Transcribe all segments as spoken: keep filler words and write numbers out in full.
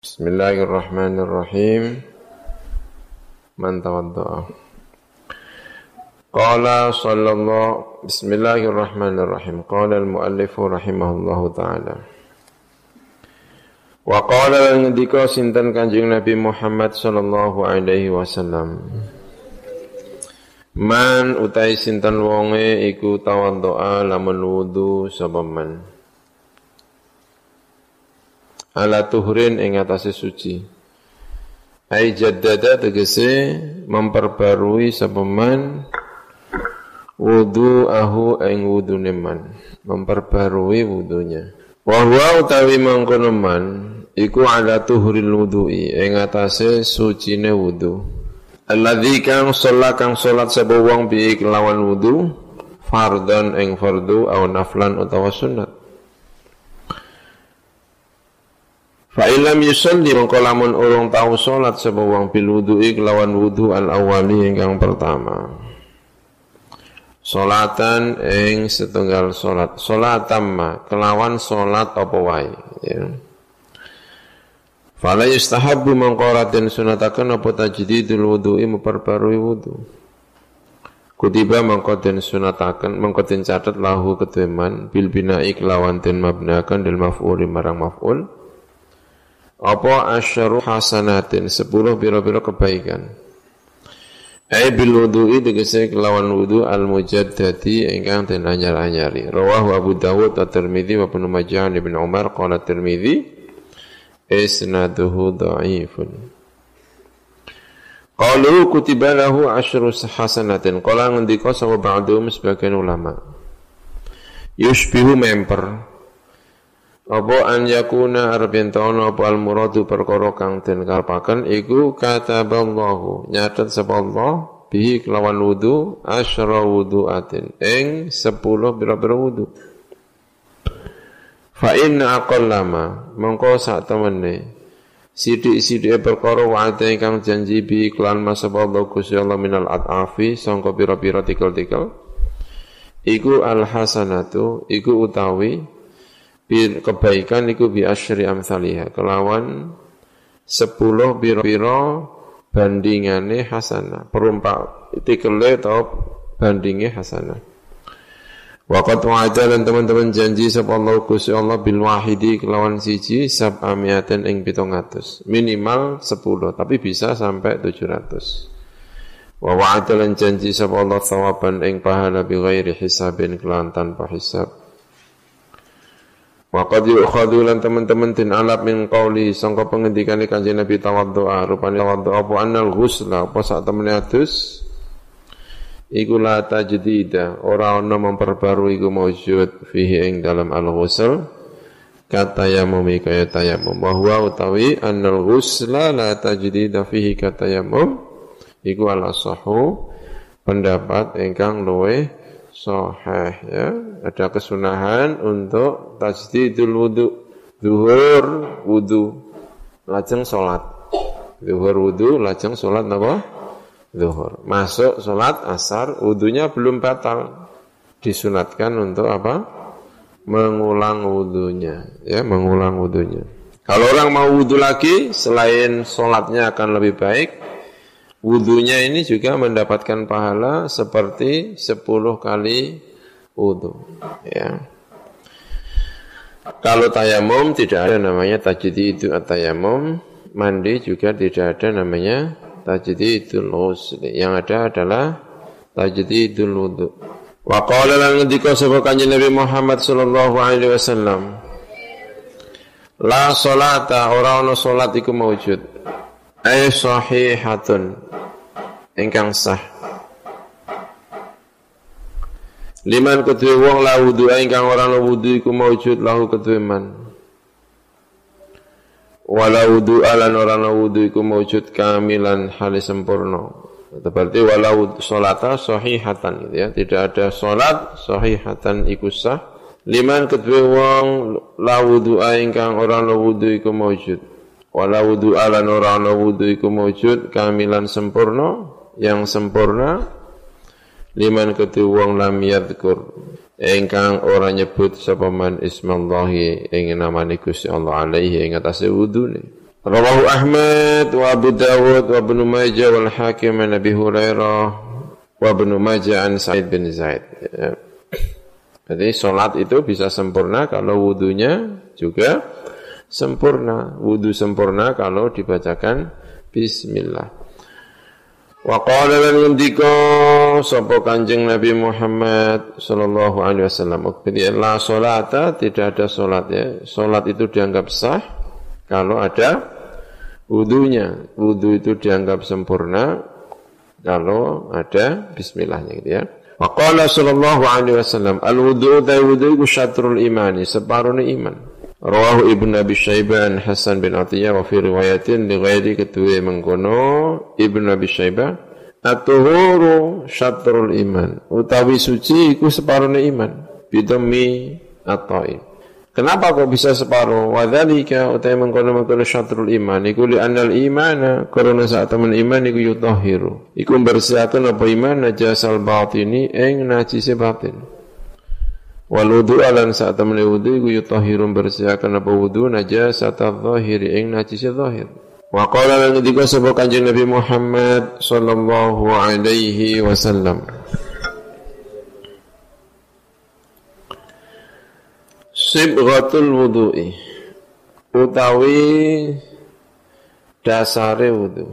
Bismillahirrahmanirrahim. Man tawadda'a. Qala sallallahu Bismillahirrahmanirrahim. Qala al-muallifu rahimahullahu ta'ala. Wa qala lan-ngendika sinten Kanjeng Nabi Muhammad sallallahu alaihi wasallam. Man utai sinten wonge iku tawadda'a lamun wudu sapa man. Ala tuhrin ing atase suci. Ai jaddada tegese memperbarui sapa man wudu'ahu ing wudune man, memperbarui wudunya. Wa huwa utawi mangkono man iku ala tuhril wudu'i ing atase sucine wudu. Alladzi kang sholat kang sholat sapa wong bi kelawan wudu fardhan ing fardu au naflan utawa sunat. Fa illam yusalli mongko lamun urung tau salat sapa wong bil wudu'i kelawan wudu al awali ingkang pertama. Salatan ing setunggal salat, salat tamma kelawan salat apa wae ya. Fala yustahabbu mongko raden sunataken apa tajdidul wudu'i memperbarui wudu. Kutiba mongko den sunataken mongko den catet lahu keteman bil bina'i kelawan den mabnakan dil maf'ul marang maf'ul. Apa asyaru hasanatin sepuluh biro-biro kebaikan. Ai bil wudu'i tegese kelawan wudu al mujaddadi ingkang den anyar-anyari. Rawahu Abu Dawud wa Tirmidzi wa Ibnu Majah Ibnu Umar qala Tirmidzi isnaduhu dhaifun. Qalu kutiba lahu asyru hasanatin. Qala ngendika sapa ba'dhum sebagian ulama. Yushbihu memper apa an yakuna arep yen ana apa al muradu perkara kang den karepaken iku kataballahu nyatet sapa Allah bihi kelawan wudu asyra wudu'atin ing sepuluh pira-pira wudu. Fa inna aqallama mongko sak temene sithik-sithike perkara wa'ate ingkang janji bi kelan masapa Allah Gusti Allah minal atafi sangka pira-pira tikel-tikel iku al hasanatu iku utawi kebaikan iku bi asyri amsalihah kelawan sepuluh biro-biro bandingane hasanah perumpak tikele atau bandinge hasanah. Waqat wa'ada lan teman-teman janji sapa Allah Gusti Allah bil wahidi kelawan siji sab'amiaten ing pitung atus minimal sepuluh tapi bisa sampai tujuh ratus. Wa wa'ada lan janji sapa Allah thawaban ing pahala bi ghairi hisabin kelawan tanpa hisab. Wa qad yu'khadhu lan teman-teman tin alap min qauli sangka pengendikane Kanjeng Nabi tawaddu'a rupane tawaddu'a apa annal ghusla apa sak temene adus iku la tajdida ora ana memperbarui iku maujud fihi ing dalam al-ghusl kata yamum kaya tayammum wa huwa utawi annal ghusla la tajdida fihi kata yamum iku ala sahu pendapat ingkang luweh sahih ya. Ada kesunahan untuk tajdidul wudu, zuhur wudu, lajeng salat. Zuhur wudu, lajeng salat napa? Zuhur. Masuk salat asar, wudunya belum batal. Disunatkan untuk apa? Mengulang wudunya, ya, mengulang wudunya. Kalau orang mau wudu lagi, selain salatnya akan lebih baik, wudunya ini juga mendapatkan pahala seperti sepuluh kali wudu ya. Kalau tayamum tidak ada namanya tajdidul tayamum, mandi juga tidak ada namanya tajdidul ghusl. Yang ada adalah tajdidul wudu. Wa qala lan ngendika sapa Kanjeng Nabi Muhammad sallallahu alaihi wasallam. La sholata ora ana salat iku maujud. Ay sahihatun ingkang sah. Liman kedue wong la wudu ingkang ora ana wudu iku maujud lahu kedue man. Wala wudu alan ora ana wudu iku maujud kamilan hale sempurna. Itu berarti wala wudu salata sahihatan gitu ya. Tidak ada salat sahihatan iku sah. Liman kedue wong la wudu ingkang ora ana wudu iku maujud. Wala wudu alan ora ana wudu iku maujud kamilan sempurna yang sempurna. Liman ketu wong lam yadhkur ingkang ora nyebut sapa man ismallahi ing namane Gusti Allah alaihi ing atase wudune Rawahu Ahmad wa Abu Dawud wa Ibnu Majah wal Hakim an Abi Hurairah wa Ibnu Majah an Sa'id bin Zaid. Ya. Jadi salat itu bisa sempurna kalau wudunya juga sempurna. Wudu sempurna kalau dibacakan bismillah. Wa qala lan ngendika sapa Kanjeng Nabi Muhammad sallallahu alaihi wasallam, la salata, tidak ada salat ya. Salat itu dianggap sah kalau ada wudunya. Wudu itu dianggap sempurna kalau ada bismillahnya gitu ya. Wa qala sallallahu alaihi wasallam, al-wudu wudu iku syatrul imani, separuhnya iman. Rawahu Ibnu Abi Syaibah Hasan bin Atiyah wa fi riwayatin li ghairi kedua mengkono Ibnu Abi Syaibah, at-tuhuru syatrul iman, utawi suci iku separuhnya iman. Bidami at-ta'im. Kenapa kok bisa separuh? Wa dzalika utai mengkono-mengkono syatrul iman iku li annal imana, karena saat temen iman iku yutahhiru, iku bersihkan apa iman najasal batini ing najise batin. Wal wudu alan saat temen wudu iku yutahhiru bersihkan apa wudu najasat adh-dhahiri ing najise zahir. Wa qala lan ngendika sapa Kanjeng Nabi Muhammad sallallahu alaihi wasallam, sibghatul wudu'i, utawi dasare wudu.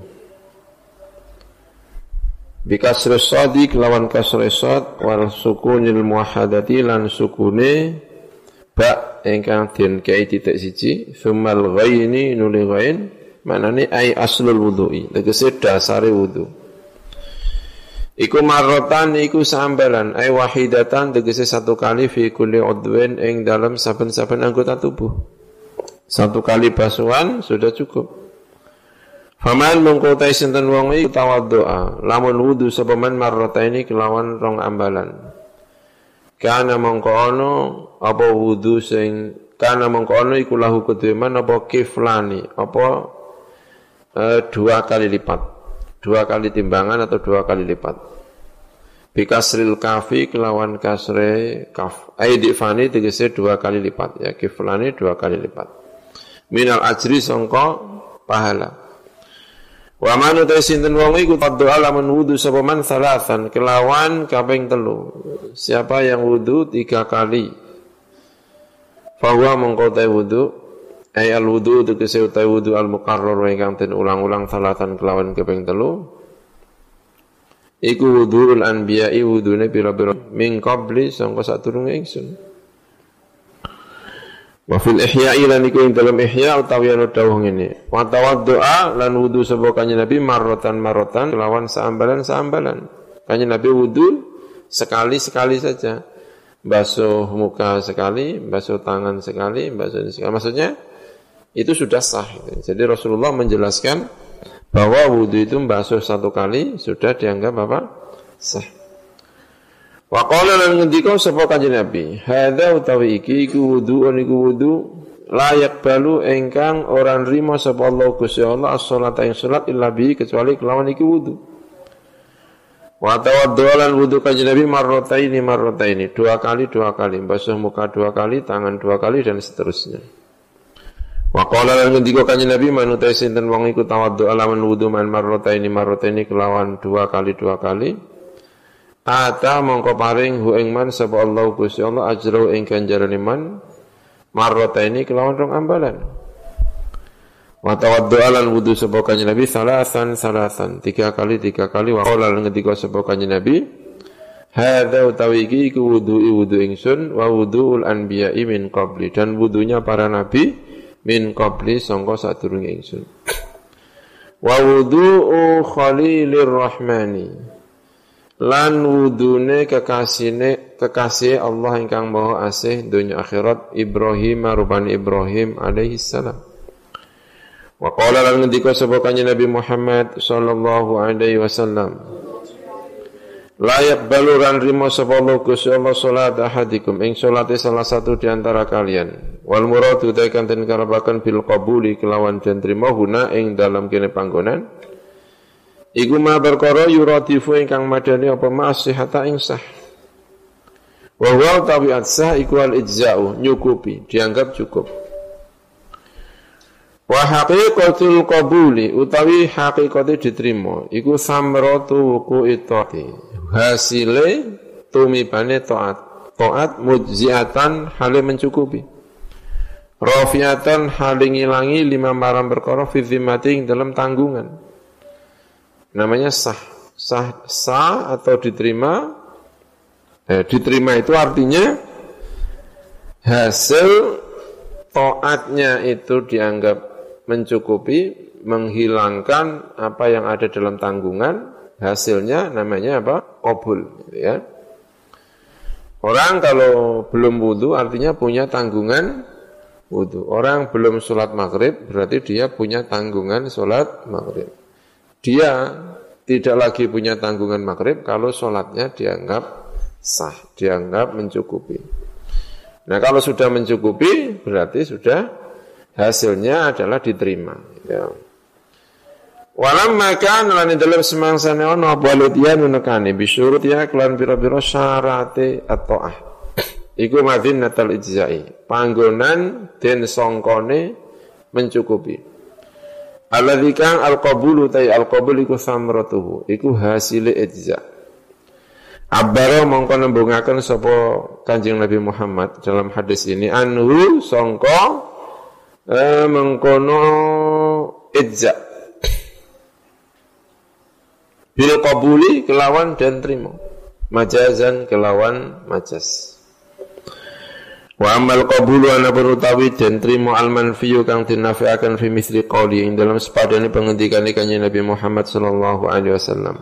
Bikasri shadi kelawan kasri shad wal sukunil muwahhadati lan sukune ba ingkang den kei titik siji, sumal ghaini nuli ghain, manane ai aslul wudu'i, tegese dasare wudu. Iku marrotan iku sambalan, ay wahidatan tegese satu kali fi kulli udwin ing dalam saben-saben anggota tubuh. Satu kali basuhan sudah cukup. Faman mongko ta sinten wong iku tawaddoa, lamun wudu sapa man marrotaini kelawan rong ambalan. Kana mongko ono apa wudu sing kana mongko ono iku lahu kedue man apa kiflani, apa e, dua kali lipat. Dua kali timbangan atau dua kali lipat. Bikasril kafi kelawan kasre kaf. Aidifani tegese dua kali lipat ya, kiflani dua kali lipat. Minal ajri sangka pahala. Wa man utai sinten wong iku doa lamun wudu sapa man salasan kelawan kaping telu. Siapa yang wudu tiga kali, fahuwa mongko utai wudu ay al wudu tegese utai wudu al muqarrar ingkang den ulang-ulang salasan kelawan kaping telu. Iku wuduul anbiya'i, wudune pira-pira min qabli sangka sadurunge ingsun. Wa fil ihya'i lan iku ing dalam ihya utawi ana dawuh ngene, wa tawaddu'a lan wudu sapa kanjeng Nabi marrotan marrotan kelawan saambalan-saambalan. Kanjeng Nabi wudu sekali-sekali saja. Basuh muka sekali, basuh tangan sekali, basuh ini sekali. Maksudnya itu sudah sah. Jadi Rasulullah menjelaskan bahwa wudu itu basuh satu kali sudah dianggap apa? Sah. Wa qala lan ngendika sapa kanjeng Nabi, hadza utawi iki iku wudu niku wudu layak balu engkang ora nrimo sapa Allah Gusti Allah as-shalata ing salat illa bi kecuali kelawan iki wudu. Wa tawaddulan wudu kanjeng Nabi marrataini marrataini, dua kali dua kali, basuh muka dua kali, tangan dua kali dan seterusnya. Wa qala lan ngendika kanjeng Nabi manutai sinten wong iku tawaddu alaman wudu man marrataini marrataini kelawan dua kali dua kali. Ata mongko paring hu ing man sapa Allah Gusti Allah ajrau ing ganjaran man marrataini kelawan rong ambalan. Wa tawaddu alal wudu sapa kanjeng Nabi salasan salasan, tiga kali tiga kali. Wa qala ngendika sapa kanjeng Nabi, hadza utawi iki iku wudu'i wudu ingsun wa wudu'ul anbiya'i min qabli, dan wudunya para nabi min qabli sangka sadurunge ingsun. Wa wudu'u khalilir rahmani, lan wudune kekasihne kekasih Allah ingkang maha asih dunya akhirat Ibrahim rupane Ibrahim alaihi salam. Wa qala lan ngendika sapa kanjeng Nabi Muhammad sallallahu alaihi wasallam, la yaqbalu ran rimo sapa Allah Gusti Allah salat ahadikum ing salate salah satu di antara kalian. Wal muradu takan den karabaken bil qabuli kelawan den trimo guna ing dalam kene panggonan. Iku ma perkara yuratifu ingkang madani apa masihata ing sah. Wa huwa tabiat sah iku al ijza'u, nyukupi, dianggap cukup. Wa haqiqatul qabuli utawi haqiqate diterima iku samratu wuqu'i taati. Hasile tumibane taat. Taat mujziatan hale mencukupi. Rafiatan hale ngilangi lima marang perkara fi zimmati dalam tanggungan. Namanya sah. Sah sah atau diterima. Eh, diterima itu artinya hasil taatnya itu dianggap mencukupi, menghilangkan apa yang ada dalam tanggungan, hasilnya namanya apa? Qabul, ya. Orang kalau belum wudu artinya punya tanggungan wudu. Orang belum sholat maghrib berarti dia punya tanggungan sholat maghrib. Dia tidak lagi punya tanggungan maghrib kalau sholatnya dianggap sah, dianggap mencukupi. Nah kalau sudah mencukupi berarti sudah hasilnya adalah diterima. Ya. Walam maka nolani dalam semangsane ono balutian menekani bisurut ya kelan biro-biro syarate atau ah. Iku madin natal ijzai. Panggonan den songkone mencukupi. Alladzi kang al-qabulu tay al-qabul iku samratuhu. Iku hasile ijza. Abbaro mongko nembungaken sapa Kanjeng Nabi Muhammad dalam hadis ini anhu sangka eh, mengkono ijza bil qabuli kelawan dan terima majazan kelawan majaz wa amal qabulu ana berutawi dan terima al manfiyu kang dinafiaken fi misli qauli ing dalam sepadane pengendikane Kanjeng Nabi Muhammad sallallahu alaihi wasallam.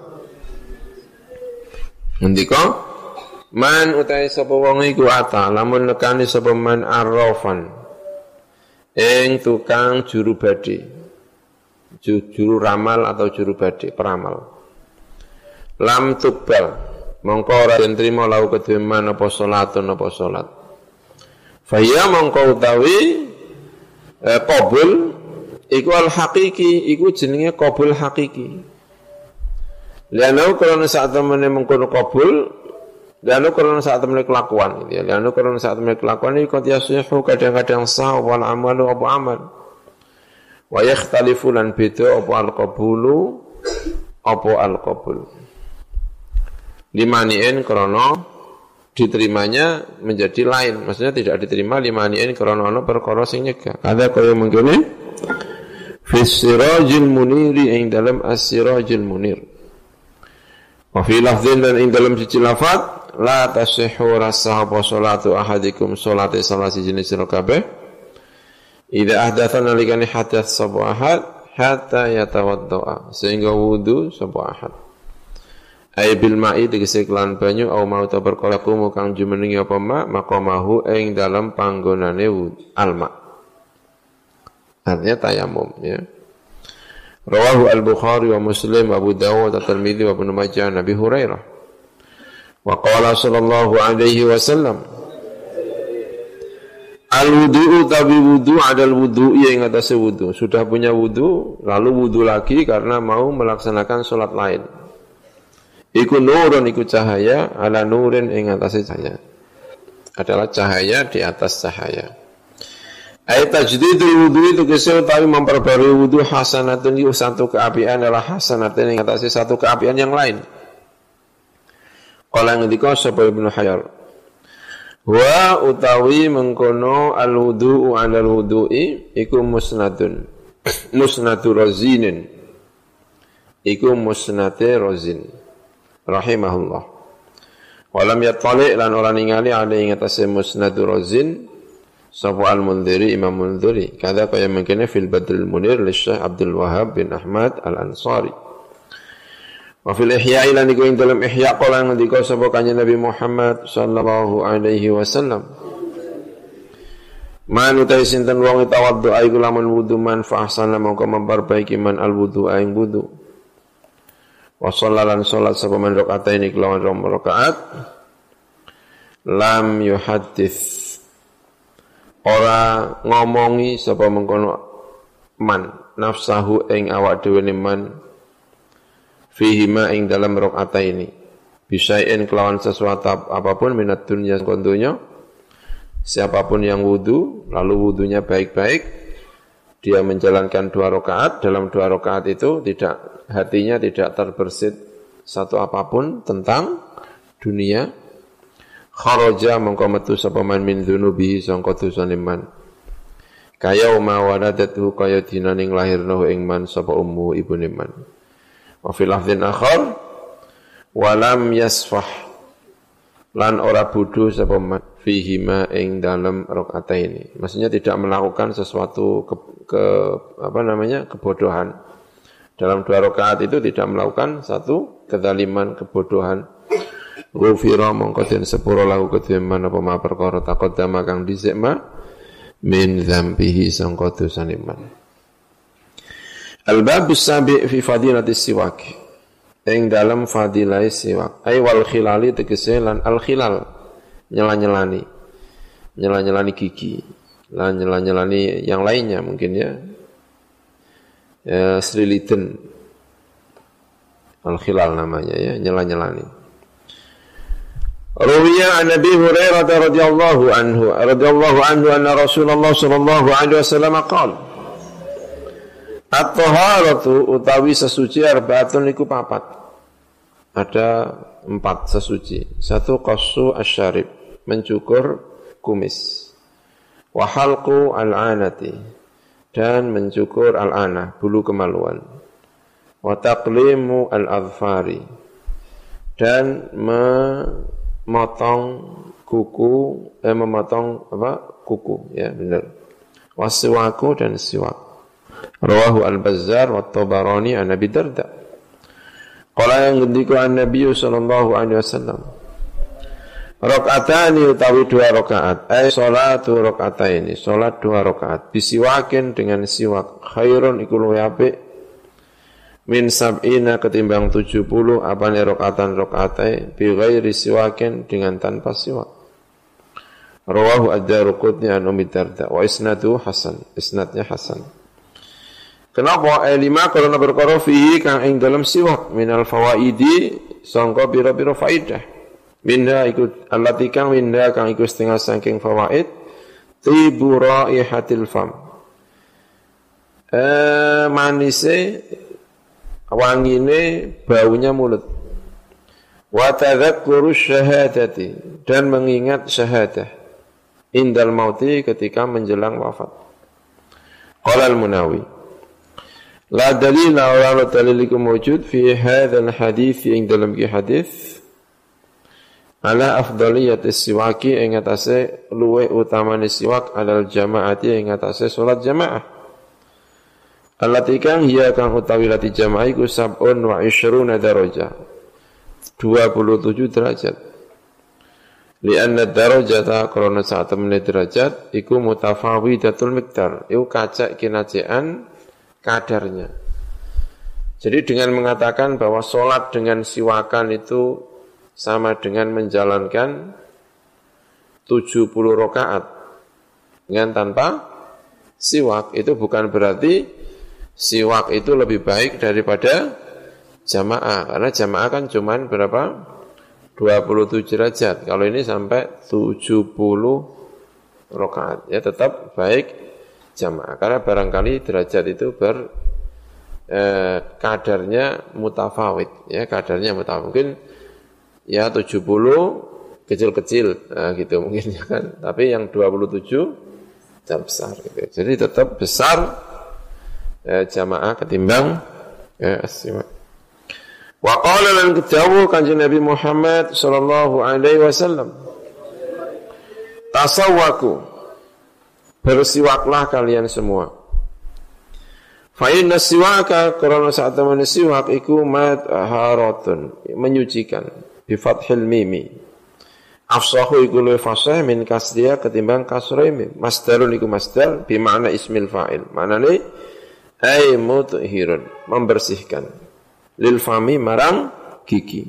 Ngendika man utai sapa wong iku ata lamun nekani sapa man arrafan ing tukang juru badi juru ramal atau juru badi peramal lam tukbal mongko ora den trima lau kedue man apa salatun apa salat faya mongko utawi eh, qabul iku al haqiqi iku jenenge qabul haqiqi. Lianau karena saat temannya mengkono kabul, lianau karena saat temannya kelakuan, ya. Lianau karena saat temannya kelakuan ini qadiyasuhu kadang-kadang sah wal amalu apa amal, wa yakhtalifu lan beda apa al qabulu apa al qabul. Limaniin karena diterimanya menjadi lain, maksudnya tidak diterima limaniin karena ono perkara sing nyegah. Ada kaya mengkene fi sirajil muniri ing dalam as-sirajil munir. Wa fi lafdhin dan ing dalam siji lafaz la tasihhu rasaha salatu ahadikum salate salah siji jenis sira kabeh idza ahdatha nalikane hadath sapa ahad hatta yatawaddaa sehingga wudu sapa ahad ay bil ma'i tegese kelan banyu au mau ta perkara kumu kang jumenengi apa ma maqamahu ing dalam panggonane alma artinya tayamum ya. Rawahu al-Bukhari wa Muslim wa Abu Dawud wa Tirmidzi wa Ibnu Majah Nabi Hurairah. Wa qala sallallahu alaihi wasallam al-wudu'u tabi wudu' adal wudu'i yang atas wudu. Sudah punya wudu, lalu wudu lagi karena mau melaksanakan salat lain. Iku nurun iku cahaya ala nurin ing atas cahaya. Adalah cahaya di atas cahaya. Ayat tajdidul wudu itu kisah utawi memperbarui wudu hasanatun yu satu keapian adalah hasanatun yang atasnya satu keapian yang lain. Qala ngendika sapa Ibnu Hajar. Wa utawi mengkono al wudu'u 'alal wudu'i iku musnadun. Musnadu razinin. Iku musnate razin. Rahimahullah. Walam yattali' lan ora ningali ale ing atase musnadu razin. Sapa al-Mundhiri Imam Mundhiri kada kaya mengkene fil Badrul Munir li Syekh Abdul Wahhab bin Ahmad Al-Ansari wa fil Ihya ila niku ing dalam Ihya qala ngendika sapa Kanjeng Nabi Muhammad sallallahu alaihi wasallam man utai sinten wong tawaddu iku lamun wudu man fa ahsana mongko memperbaiki man al-wudu ing wudu wa shallalan salat sapa man rakaataini kelawan rakaat lam yuhaddits ora ngomongi sapa mengkono man nafsahu ing awak dhewe man fihi ma ing dalam rakaat ini bisain kelawan sesuatu apapun minat dunya kondonya siapapun yang wudu lalu wudunya baik-baik dia menjalankan dua rakaat, dalam dua rakaat itu tidak hatinya tidak terbersit satu apapun tentang dunia, kharaja mongko metu sapa man min dzunubi sangka dosane man. Kaya uma waladatu kaya dinaning lahirna ing man sapa ummu ibune man. Wa fil lafdhin akhar walam yasfah lan ora bodho sapa man fihi ma ing dalam rakaataini. Maksudnya tidak melakukan sesuatu ke, ke apa namanya kebodohan. Dalam dua rakaat itu tidak melakukan satu kezaliman, kebodohan. Ghufira mongko den sepuro lahu kedue man apa ma perkara taqaddama kang dhisik ma min dzambihi sangka dosane man. Al-babus sabi' fi fadilati siwak. Ing dalam fadilah siwak. Ai wal khilali tegese lan al khilal nyela-nyelani. Nyela-nyelani gigi. Lan nyela-nyelani yang lainnya mungkin ya. Ya, Sriliten Al-Khilal namanya ya, nyela-nyelani. Ruwiya an Nabi Hurairah radhiyallahu anhu radhiyallahu anhu anna Rasulullah sallallahu alaihi wasallam qala At-taharatu utawi sesuci arba'atun iku papat. Ada empat sesuci. Satu qassu asyarib, mencukur kumis. Wa halqu al-anati, dan mencukur al-anah, bulu kemaluan. Wa taqlimu al-adfari, dan memotong kuku, eh, memotong apa? Kuku, ya benar. Wasiwaku dan siwak. Rawahu al-Bazzar wa Tabarani an Abi Darda. Qala yang ngendika an-Nabi sallallahu alaihi wasallam. Rakaatani utawi dua rakaat, ay salatu rakaataini, salat dua rakaat, bisiwakin dengan siwak, khairun iku luwih apik min sab'ina ketimbang tujuh puluh apane rakaatan rakaatai bi ghairi siwakin dengan tanpa siwak. Rawahu ad-Darqutni an Ummi Darda wa isnadu hasan, isnadnya hasan. Kenapa? Ay lima karena perkara fihi kang ing dalam siwak minal fawaidi sangka pira-pira faidah. Minda ikut allati kang minda kang ikut setengah saking fawaid tibu raihatil fam. Eh manise wangine baunya mulut. Wa tadzakkuru syahadati, dan mengingat syahadah indal mauti ketika menjelang wafat. Qala al-Munawi la dalila wa la dalilikum wujud fi hadzal hadits ing dalam ki hadis ala afdaliyati siwaki ing atase luwe utamane siwak alal jamaati ing atase salat jamaah. Allati kang hiya kang utawi lati jamaah iku sab'un wa ishruna darajah. dua puluh tujuh derajat. Lianna darajata karena saat temene derajat iku mutafawidatul miqdar. Iku kacak kinacean kadarnya. Jadi dengan mengatakan bahwa salat dengan siwakan itu sama dengan menjalankan tujuh puluh rakaat dengan tanpa siwak, itu bukan berarti siwak itu lebih baik daripada jamaah, karena jamaah kan cuman berapa? dua puluh tujuh derajat. Kalau ini sampai tujuh puluh rakaat, ya tetap baik jamaah, karena barangkali derajat itu ber eh, kadarnya mutafawid, ya kadarnya mutafawid. Mungkin ya tujuh puluh kecil-kecil, nah, gitu mungkin ya kan. Tapi yang dua puluh tujuh besar gitu. Jadi tetap besar eh, jamaah ketimbang eh, as-siwak. Wa qala lan ketawu kanjeng Nabi Muhammad sallallahu alaihi wasallam. Tasawwaku, bersiwaklah kalian semua. Fa inna siwaka karena saat teman siwak iku madharatun, menyucikan. Bi fathil mimi. Afsahu iku luwih fasih min kasriya ketimbang kasrah mim. Masdarun iku masdar bi makna ismil fa'il. Maknane ay mutahhirun, membersihkan. Lil fami marang gigi.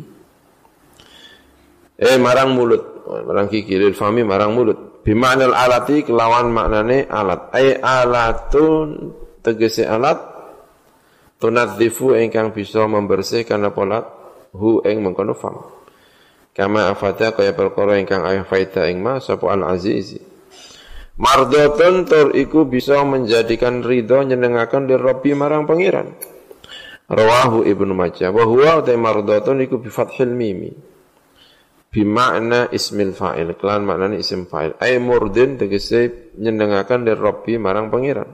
Eh marang mulut, marang gigi, lil fami marang mulut. Bi maknal alati kelawan maknane alat. Ay alatun tegese alat tunadzifu ingkang bisa membersihkan apa lat hu ing mengkono fam. Kama afata kaya perkara ingkang ayah faida ing ma sapa al-azizi. Mardotun tur iku bisa menjadikan ridho nyenengaken li Rabbi marang pangeran. Rawahu Ibnu Majah. Wa huwa ta mardotun iku bi fathil mimi. Bi makna ismil fa'il, kelan maknane isim fa'il. Ai murdin tegese nyenengaken li Rabbi marang pangeran.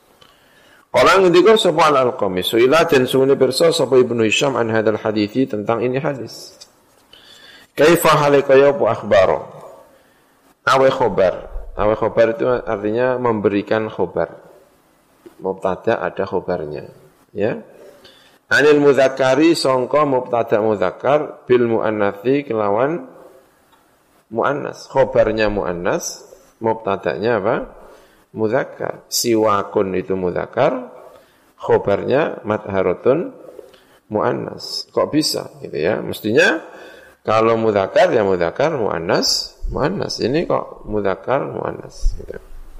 Kala ngendika sapa al-Alqami, suila den sune pirsa sapa Ibnu Hisham an hadzal hadithi tentang ini hadis. Kaifa halikaya apa akhbaro? Awe khobar. Awe khobar itu artinya memberikan khobar. Mubtada ada khobarnya, ya. Anil mudzakkari sangka mubtada mudzakkar bil muannatsi kelawan muannas. Khobarnya muannas, mubtadanya apa? Mudzakkar. Siwakun itu mudzakkar, khobarnya madharatun muannas. Kok bisa gitu ya? Mestinya kalau mudzakkar ya mudzakkar, muannas muannas. Ini kok mudzakkar muannas gitu.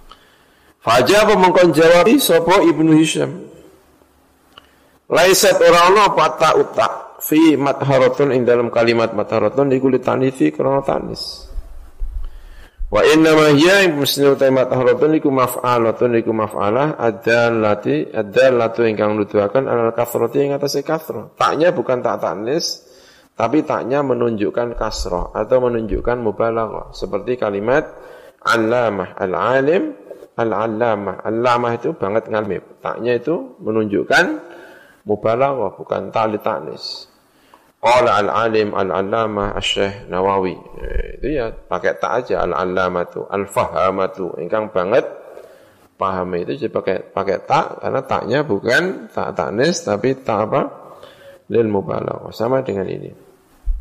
Fajaba mengkon jawab sapa Ibnu Hisham. Laisat ora ana apa ta uta fi madharatun ing dalam kalimat madharatun iku litanisi krana tanis. Wa inna ma hiya muslimu ta madharatun iku maf'alatun iku maf'alah adallati adallatu ingkang nuduhaken alal kasrati ing atase kasrah. Taknya bukan tak tanis tapi taknya menunjukkan kasrah atau menunjukkan mubalaghah seperti kalimat allamah al-alim al-allamah. Allamah itu banget ngalmi. Taknya itu menunjukkan mubalaghah bukan tali tanis. Qala al-alim al-allamah asy-syekh Nawawi. Eh, itu ya pakai tak aja al-allamatu al-fahamatu ingkang banget paham itu jadi pakai pakai tak karena taknya bukan tak tanis tapi tak apa lil mubalaghah sama dengan ini.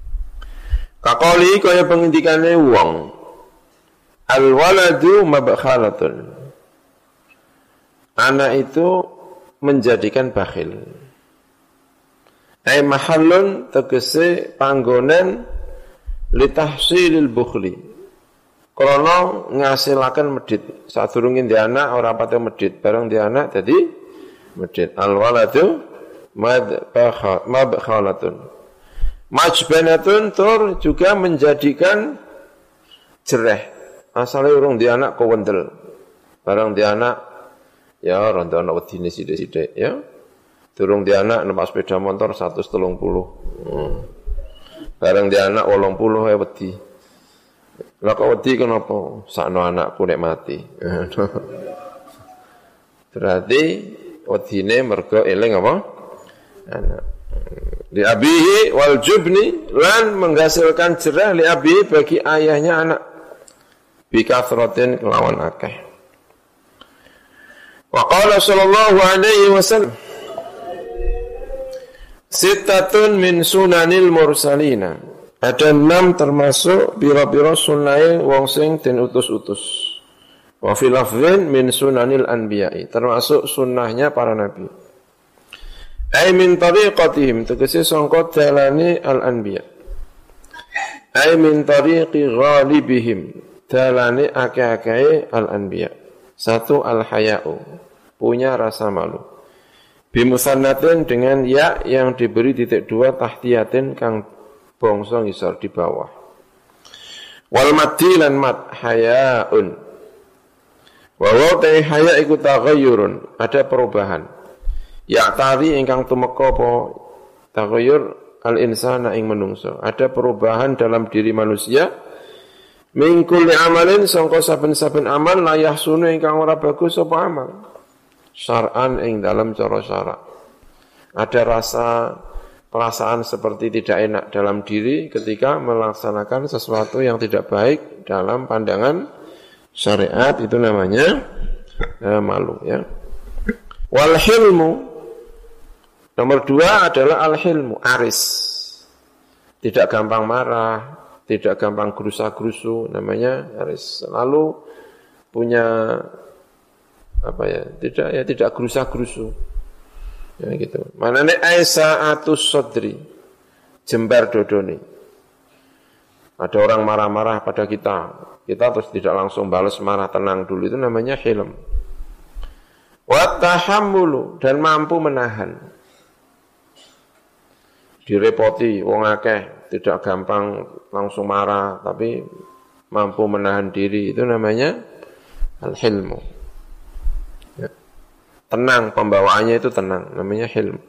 Kakoli kaya pengendikane wong al-waladu mabkhalatun. Anak itu menjadikan bakhil. Ai mahallun tegese panggonan litahsilil bukhli. Krana ngasilaken medhit. Sadurunge ndek anak ora pate medhit, bareng ndek anak dadi medhit. Al-waladu mabkhalatun. Majbanatun tur juga menjadikan jereh. Asale urung ndek anak kowendel. Bareng ndek anak ya ronda ana wedine sithik-sithik ya. Durung di anak numpak sepeda motor seratus tiga puluh. Hmm. Bareng di anak wolong puluh ae wedi. Lah kok wedi kenapa? Sakno anakku nek mati. Berarti wedine mergo eling apa? Anak. Li abihi wal jubni lan menghasilkan jerah li abihi bagi ayahnya anak. Bi kasratin kelawan akeh. Wa qala sallallahu alaihi wasallam Sittatun min sunanil mursalina. Ada enam termasuk biro-biro sunai wong sing den utus-utus. Wa fil lafdhin min sunanil anbiya'i, termasuk sunnahnya para nabi. Ai min tariqatihim, tegese sangka dalane al-anbiya. Ai min tariqi ghalibihim, dalane akeh-akehe al-anbiya. Satu al-haya'u, punya rasa malu. Bimusannatin dengan ya yang diberi titik dua tahtiyatin kang bangsa ngisor di bawah. Wal maddi lan mad hayaun. Wa wa ta haya iku taghayyurun, ada perubahan. Ya tari ingkang tumeka apa taghayyur al insana ing menungso. Ada perubahan dalam diri manusia. Min kulli amalin sangka saben-saben amal la yahsunu ingkang ora bagus apa amal. Syar'an ing dalam cara syara'. Ada rasa perasaan seperti tidak enak dalam diri ketika melaksanakan sesuatu yang tidak baik dalam pandangan syariat, itu namanya eh, malu ya. Wal hilmu nomor dua adalah al hilmu, aris. Tidak gampang marah, tidak gampang gerusa-gerusu, namanya aris. Selalu punya apa ya, tidak ya tidak gerusa-gerusu. Ya gitu. Manane aisaatus sadri, jembar dodone. Ada orang marah-marah pada kita, kita terus tidak langsung balas marah, tenang dulu, itu namanya hilm. Wa tahammulu, dan mampu menahan. Direpoti wong akeh, tidak gampang langsung marah, tapi mampu menahan diri, itu namanya Al-hilmu. Ya. Tenang, pembawaannya itu tenang, namanya hilm.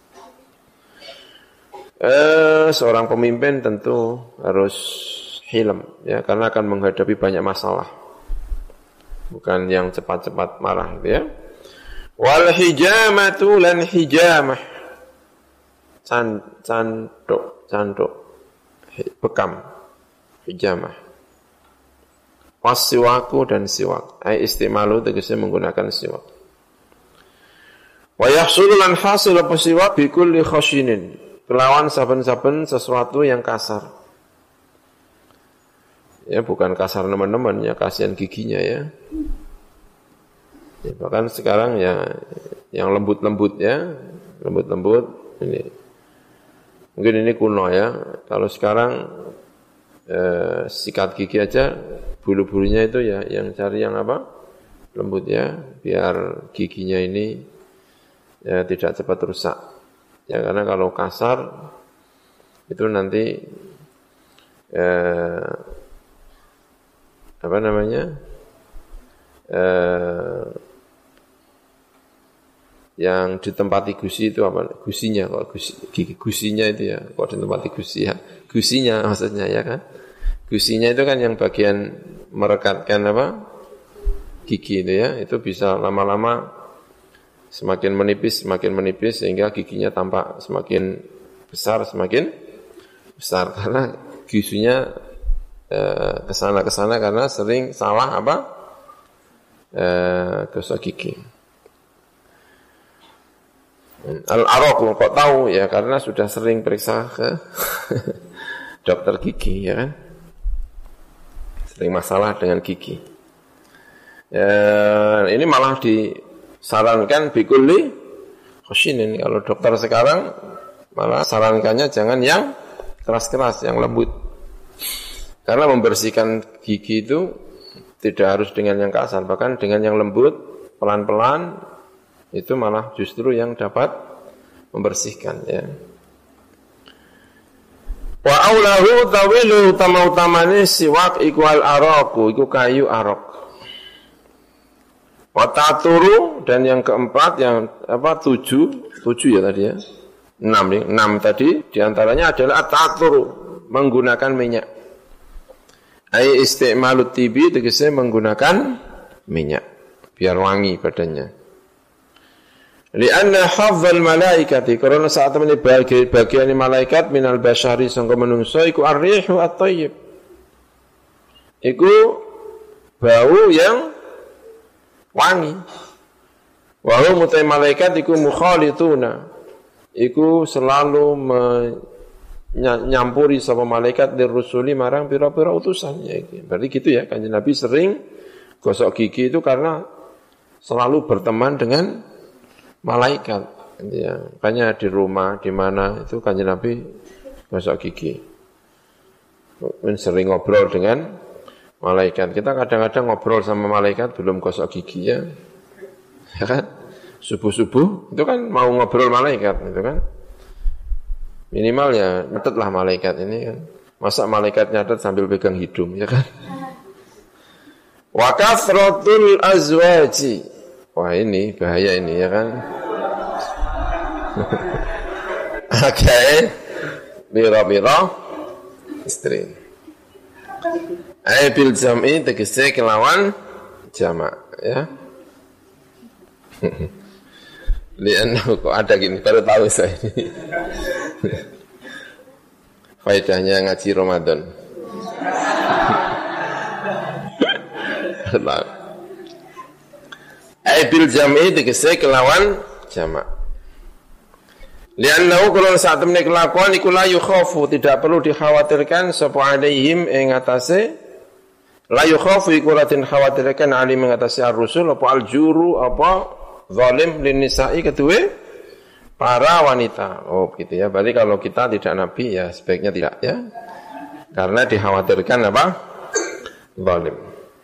Eh, seorang pemimpin tentu harus hilm, ya, karena akan menghadapi banyak masalah. Bukan yang cepat-cepat marah, gitu ya. Wal hijamatu lan hijamah. Can, canduk, canduk, bekam, hijamah. Wasiwaku dan siwak. Ai istimalu tegese menggunakan siwak. Wa yahsulu lan hasil apa siwak bi kulli khashinin. Kelawan saben-saben sesuatu yang kasar. Ya bukan kasar teman-teman ya, kasihan giginya ya. Ya bahkan sekarang ya yang lembut-lembut ya, lembut-lembut ini. Mungkin ini kuno ya. Kalau sekarang eh, sikat gigi aja bulu-bulunya itu ya yang cari yang apa? Lembut ya, biar giginya ini ya tidak cepat rusak. Ya karena kalau kasar itu nanti eh, apa namanya? Eh, yang ditempati gusi itu apa? Gusinya kok gusi, gigi gusinya itu ya, kok ditempati gusi ya. Gusinya maksudnya ya kan? Gusinya itu kan yang bagian merekatkan apa? Gigi itu ya, itu bisa lama-lama semakin menipis, semakin menipis sehingga giginya tampak semakin besar, semakin besar karena gisunya eh, kesana-kesana karena sering salah apa? Eh, gosok gigi. Al-Araq kok tahu ya karena sudah sering periksa ke dokter gigi ya kan? Sering masalah dengan gigi. Ya, ini malah disarankan bikulli khashinin. Kalau dokter sekarang malah sarankannya jangan yang keras-keras, yang lembut. Karena membersihkan gigi itu tidak harus dengan yang kasar, bahkan dengan yang lembut, pelan-pelan itu malah justru yang dapat membersihkan ya. Wa aulahu tawilu utama-utamane siwak iku al-araqu iku kayu araq. Wa ta'turu dan yang keempat yang apa tujuh, tujuh ya tadi ya. Enam nih, enam tadi diantaranya adalah at-ta'turu menggunakan minyak. Ai istimalut tibi tegese menggunakan minyak biar wangi badannya. Lianna hafdzal malaikati karena saat ini bagi bagian malaikat minal basyari sangka menungso iku ar-rihu at-thayyib. Iku bau yang wangi. Wa hum mutai malaikat iku mukhalituna. Iku selalu menyampuri sama malaikat dirusuli marang pira-pira utusannya. Berarti gitu ya, Kanjeng Nabi sering gosok gigi itu karena selalu berteman dengan malaikat, ya. Makanya di rumah, di mana itu Kanjeng Nabi gosok gigi. Sering ngobrol dengan malaikat. Kita kadang-kadang ngobrol sama malaikat belum gosok gigi ya, ya kan? Subuh-subuh itu kan mau ngobrol malaikat, itu kan? Minimal ya nyatetlah malaikat ini kan. Masa malaikat nyatet sambil pegang hidung, ya kan? Wa kathratul azwaji. Wah ini bahaya ini ya kan. Oke, biro-biro istri. Ai bil jam'i tegese kelawan jamak ya. Lian kok ada gini baru tahu saya ini. Faedahnya ngaji Ramadan. Ai bil jam'i tegese kelawan jamak. Li'annahu kalau saat temne kelakuan iku la yukhafu tidak perlu dikhawatirkan sapa alaihim ing atase la yukhafu iku la dikhawatirkan alim ing atase ar-rusul apa al-juru apa zalim lin nisa'i kedue para wanita. Oh gitu ya. Berarti kalau kita tidak nabi ya sebaiknya tidak ya. Karena dikhawatirkan apa? Zalim.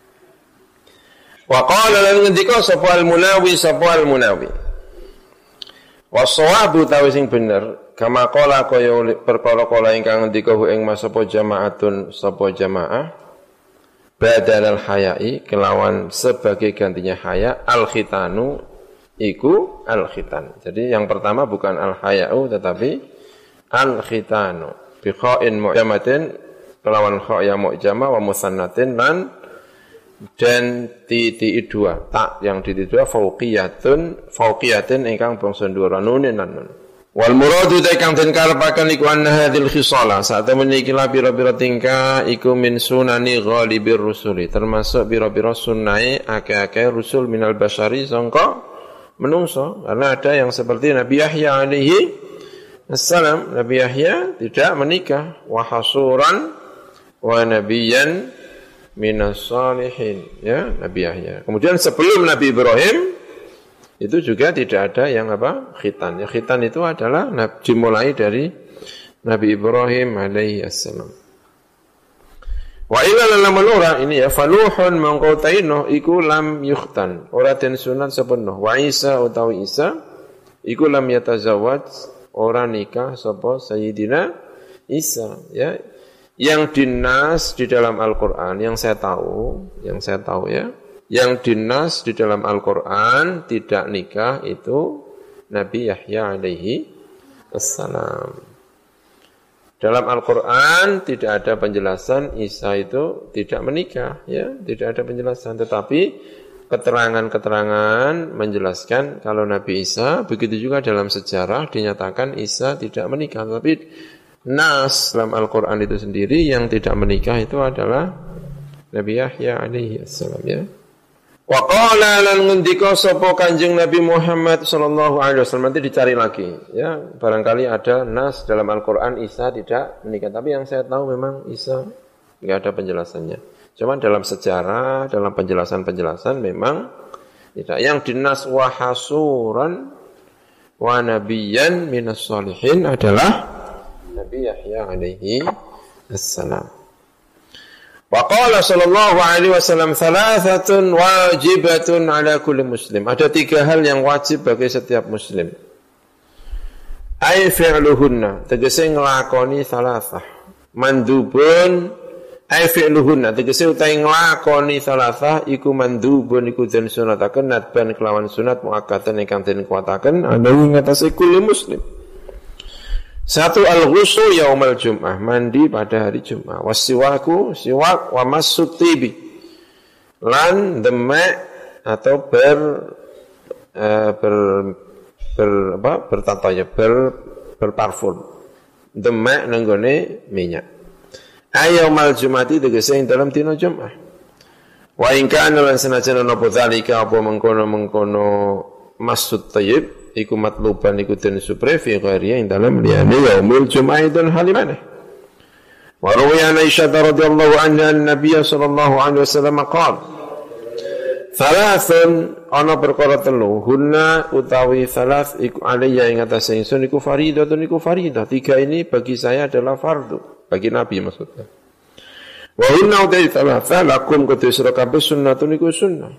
Wa qala lan ngendika sapa al-Munawi sapa al-Munawi. Wassawabu tawi sing bener kama qala kaya perkara kala ingkang ngendika ing mas sapa jamaatun sapa jamaah badal al-hayai kelawan sebagai gantinya haya al-khitanu iku al-khitan. Jadi yang pertama bukan al-haya'u tetapi al-khitanu bi kha'in mu'jamatin kelawan kha' yang mu'jamah wa musannatin lan dan titik dua tak yang titik dua fauqiyatun fauqiyatin ingkang bangsa dhuwur nunin lan nun. Wal muradu ta kang den karepaken iku anna hadzal khisala saat meniki la pira-pira tingkah iku min sunani ghalibir rusuli termasuk pira-pira sunnahe akeh-akeh rusul minal basyari sangka menungso karena ada yang seperti Nabi Yahya alaihi assalam. Nabi Yahya tidak menikah wa hasuran wa nabiyyan minas salihin ya Nabi Yahya. Kemudian sebelum Nabi Ibrahim itu juga tidak ada yang apa? Khitan. Ya, khitan itu adalah dimulai dari Nabi Ibrahim alaihi assalam. Wa ila lam ora ini ya faluhun mangqataino iku lam yukhtan. Ora den sunat sepenuh. Wa Isa utawi Isa iku lam yatazawwaj ora nikah sapa Sayyidina Isa ya. Yang dinas di dalam Al-Qur'an yang saya tahu, yang saya tahu ya. Yang dinas di dalam Al-Quran tidak nikah itu Nabi Yahya alaihi assalam. Dalam Al-Quran tidak ada penjelasan Isa itu tidak menikah, ya, tidak ada penjelasan. Tetapi keterangan-keterangan menjelaskan kalau Nabi Isa, begitu juga dalam sejarah dinyatakan Isa tidak menikah. Tapi nas dalam Al-Quran itu sendiri yang tidak menikah itu adalah Nabi Yahya alaihi assalam, ya. Wa qala lan ngendika sapa Kanjeng Nabi Muhammad sallallahu alaihi wasallam, nanti dicari lagi ya, barangkali ada nas dalam Al-Qur'an Isa tidak menikah, tapi yang saya tahu memang Isa enggak ada penjelasannya. Cuman dalam sejarah, dalam penjelasan-penjelasan memang tidak. Yang dinas wa hasuran wa nabiyyan minas salihin adalah Nabi Yahya alaihi assalam. Wa qala sallallahu alaihi wasallam thalathatun wajibatun ala kulli muslim. Ada tiga hal yang wajib bagi setiap muslim. Ai fi'luhunna, tegese nglakoni thalathah. Mandubun ai fi'luhunna, tegese utahe nglakoni thalathah iku mandubun iku den sunataken nadban kelawan sunat muakkatan ingkang den kuwataken ana ing atase kulli muslim. Satu al-ghusl yaumal jum'ah, mandi pada hari Jumat. Wasiwaku, siwak, wa masut tibi. Lan demek atau ber uh, ber ber apa? bertataya, ber berparfum. Demek nenggone minyak. Ayaumal jum'ati tegese ing dalam dina Jumat. Wa in kana lan senajan napa zalika apa mengkono-mengkono masut tayyib iku matluban iku den supre fi ghairiya ing dalem liyane yaumul jum'aidul halimane. Wa rawiya Aisyah radhiyallahu anha an-nabiy sallallahu alaihi wasallam qala thalathun ana perkara telu hunna utawi thalath iku alayya ing atase ingsun iku fardhatun iku fardhah. Tiga ini bagi saya adalah fardu, bagi Nabi maksudnya. Wa hunna utawi thalath lakum kudu sira kabeh sunnatun iku sunnah.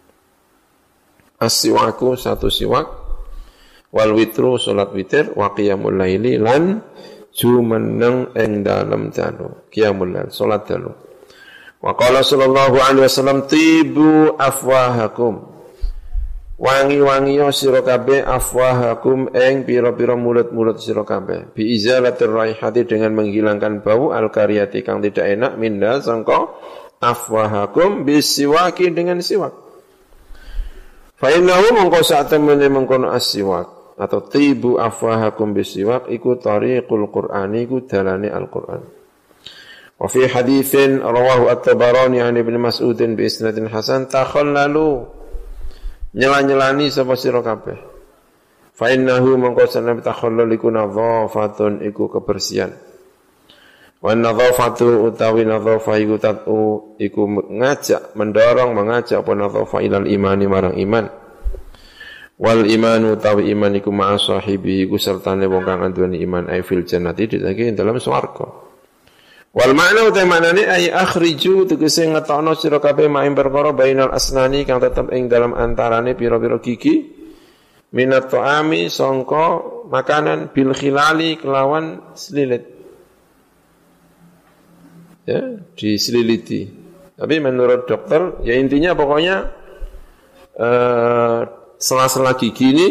As-siwaku satu siwak wal witru salat witir wa qiyamul laili lan jumeneng ing dalem dalu qiyamul lail salat dalu. Wa qala sallallahu alaihi wasallam tibu afwahakum, wangi-wangi sira kabeh afwahakum ing pira-pira mulut-mulut sira kabeh bi izalatir raihati dengan menghilangkan bau al-kariyati kang tidak enak minda sangka afwahakum bisiwaki dengan siwak. Fa innahu mongko sak temene mengkono as-siwak atau tibu afwahakum bisiwak iku tariqul Qur'ani iku dalane Al-Qur'an. Wa fi haditsin rawahu at-Tabarani an Ibnu Mas'ud bi isnadin hasan takhallalu nyela-nyelani sapa sira kabeh. Fa innahu mongko sanad takhallul iku nadhafatun iku kebersihan. Wa nadhafatu utawi nadhafa iku tatu iku ngajak mendorong mengajak apa nadhafa ilal imani marang iman. Wal imanu tawi iman iku ma'a sahibi iku sertane wong kang anduweni iman ai fil jannati ditake dalam swarga. Wal makna uta maknane ai akhriju tegese ngetokno sira kabeh maing perkara bainal asnani kang tetep ing dalam antarane pira-pira gigi minat ta'ami sangka makanan bil khilali kelawan selilit. Ya, diseliliti. Tapi menurut dokter, ya intinya pokoknya eh, sela-sela gigi ini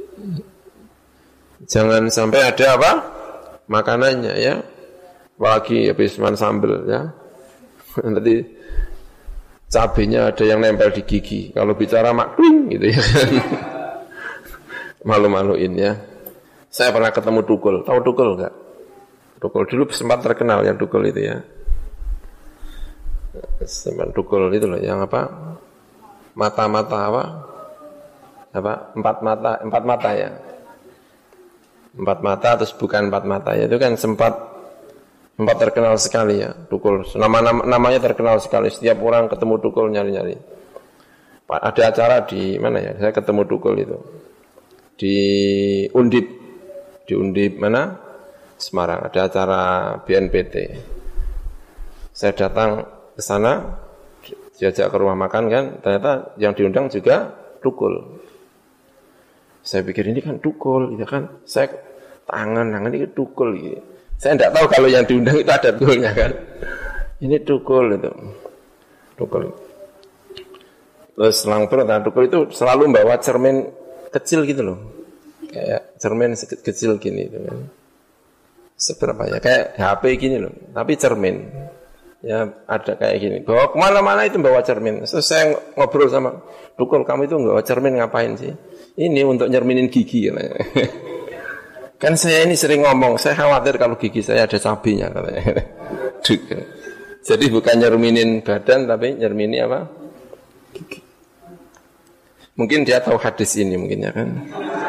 jangan sampai ada apa? Makanannya ya. Apalagi habis makan sambal ya. Nanti cabenya ada yang nempel di gigi. Kalau bicara makling gitu ya. Malu-maluin ya. Saya pernah ketemu Dukul. Tahu Dukul enggak? Dukul dulu sempat terkenal yang Dukul itu ya. Sempat Dukul itu loh yang apa? Mata-mata apa? Apa? Empat mata, empat mata ya. Empat mata terus bukan empat mata ya. Itu kan sempat empat terkenal sekali ya, Dukul. Nama, nama namanya terkenal sekali. Setiap orang ketemu Dukul nyari-nyari. Ada acara di mana ya? Saya ketemu Dukul itu. Di Undip. Di Undip mana? Semarang. Ada acara B N P T. Saya datang ke sana, diajak ke rumah makan kan, ternyata yang diundang juga Dukul. Saya pikir ini kan Dukul, gitu kan. Saya tangan, tangan ini Dukul gitu. Saya tidak tahu kalau yang diundang itu ada Dukulnya kan. Ini Dukul itu. Dukul. Terus selang perut, nah Dukul itu selalu bawa cermin kecil gitu loh. Kayak cermin kecil gini itu kan. Seberapa ya, kayak H P gini loh, tapi cermin. Ya ada kayak gini. Bawa kemana-mana itu bawa cermin. Terus saya ngobrol sama Dukul, kamu itu bawa cermin ngapain sih? Ini untuk nyerminin gigi. Kan saya ini sering ngomong, saya khawatir kalau gigi saya ada cabenya katanya. Jadi bukan nyerminin badan, tapi nyermini apa? Gigi. Mungkin dia tahu hadis ini mungkin ya kan.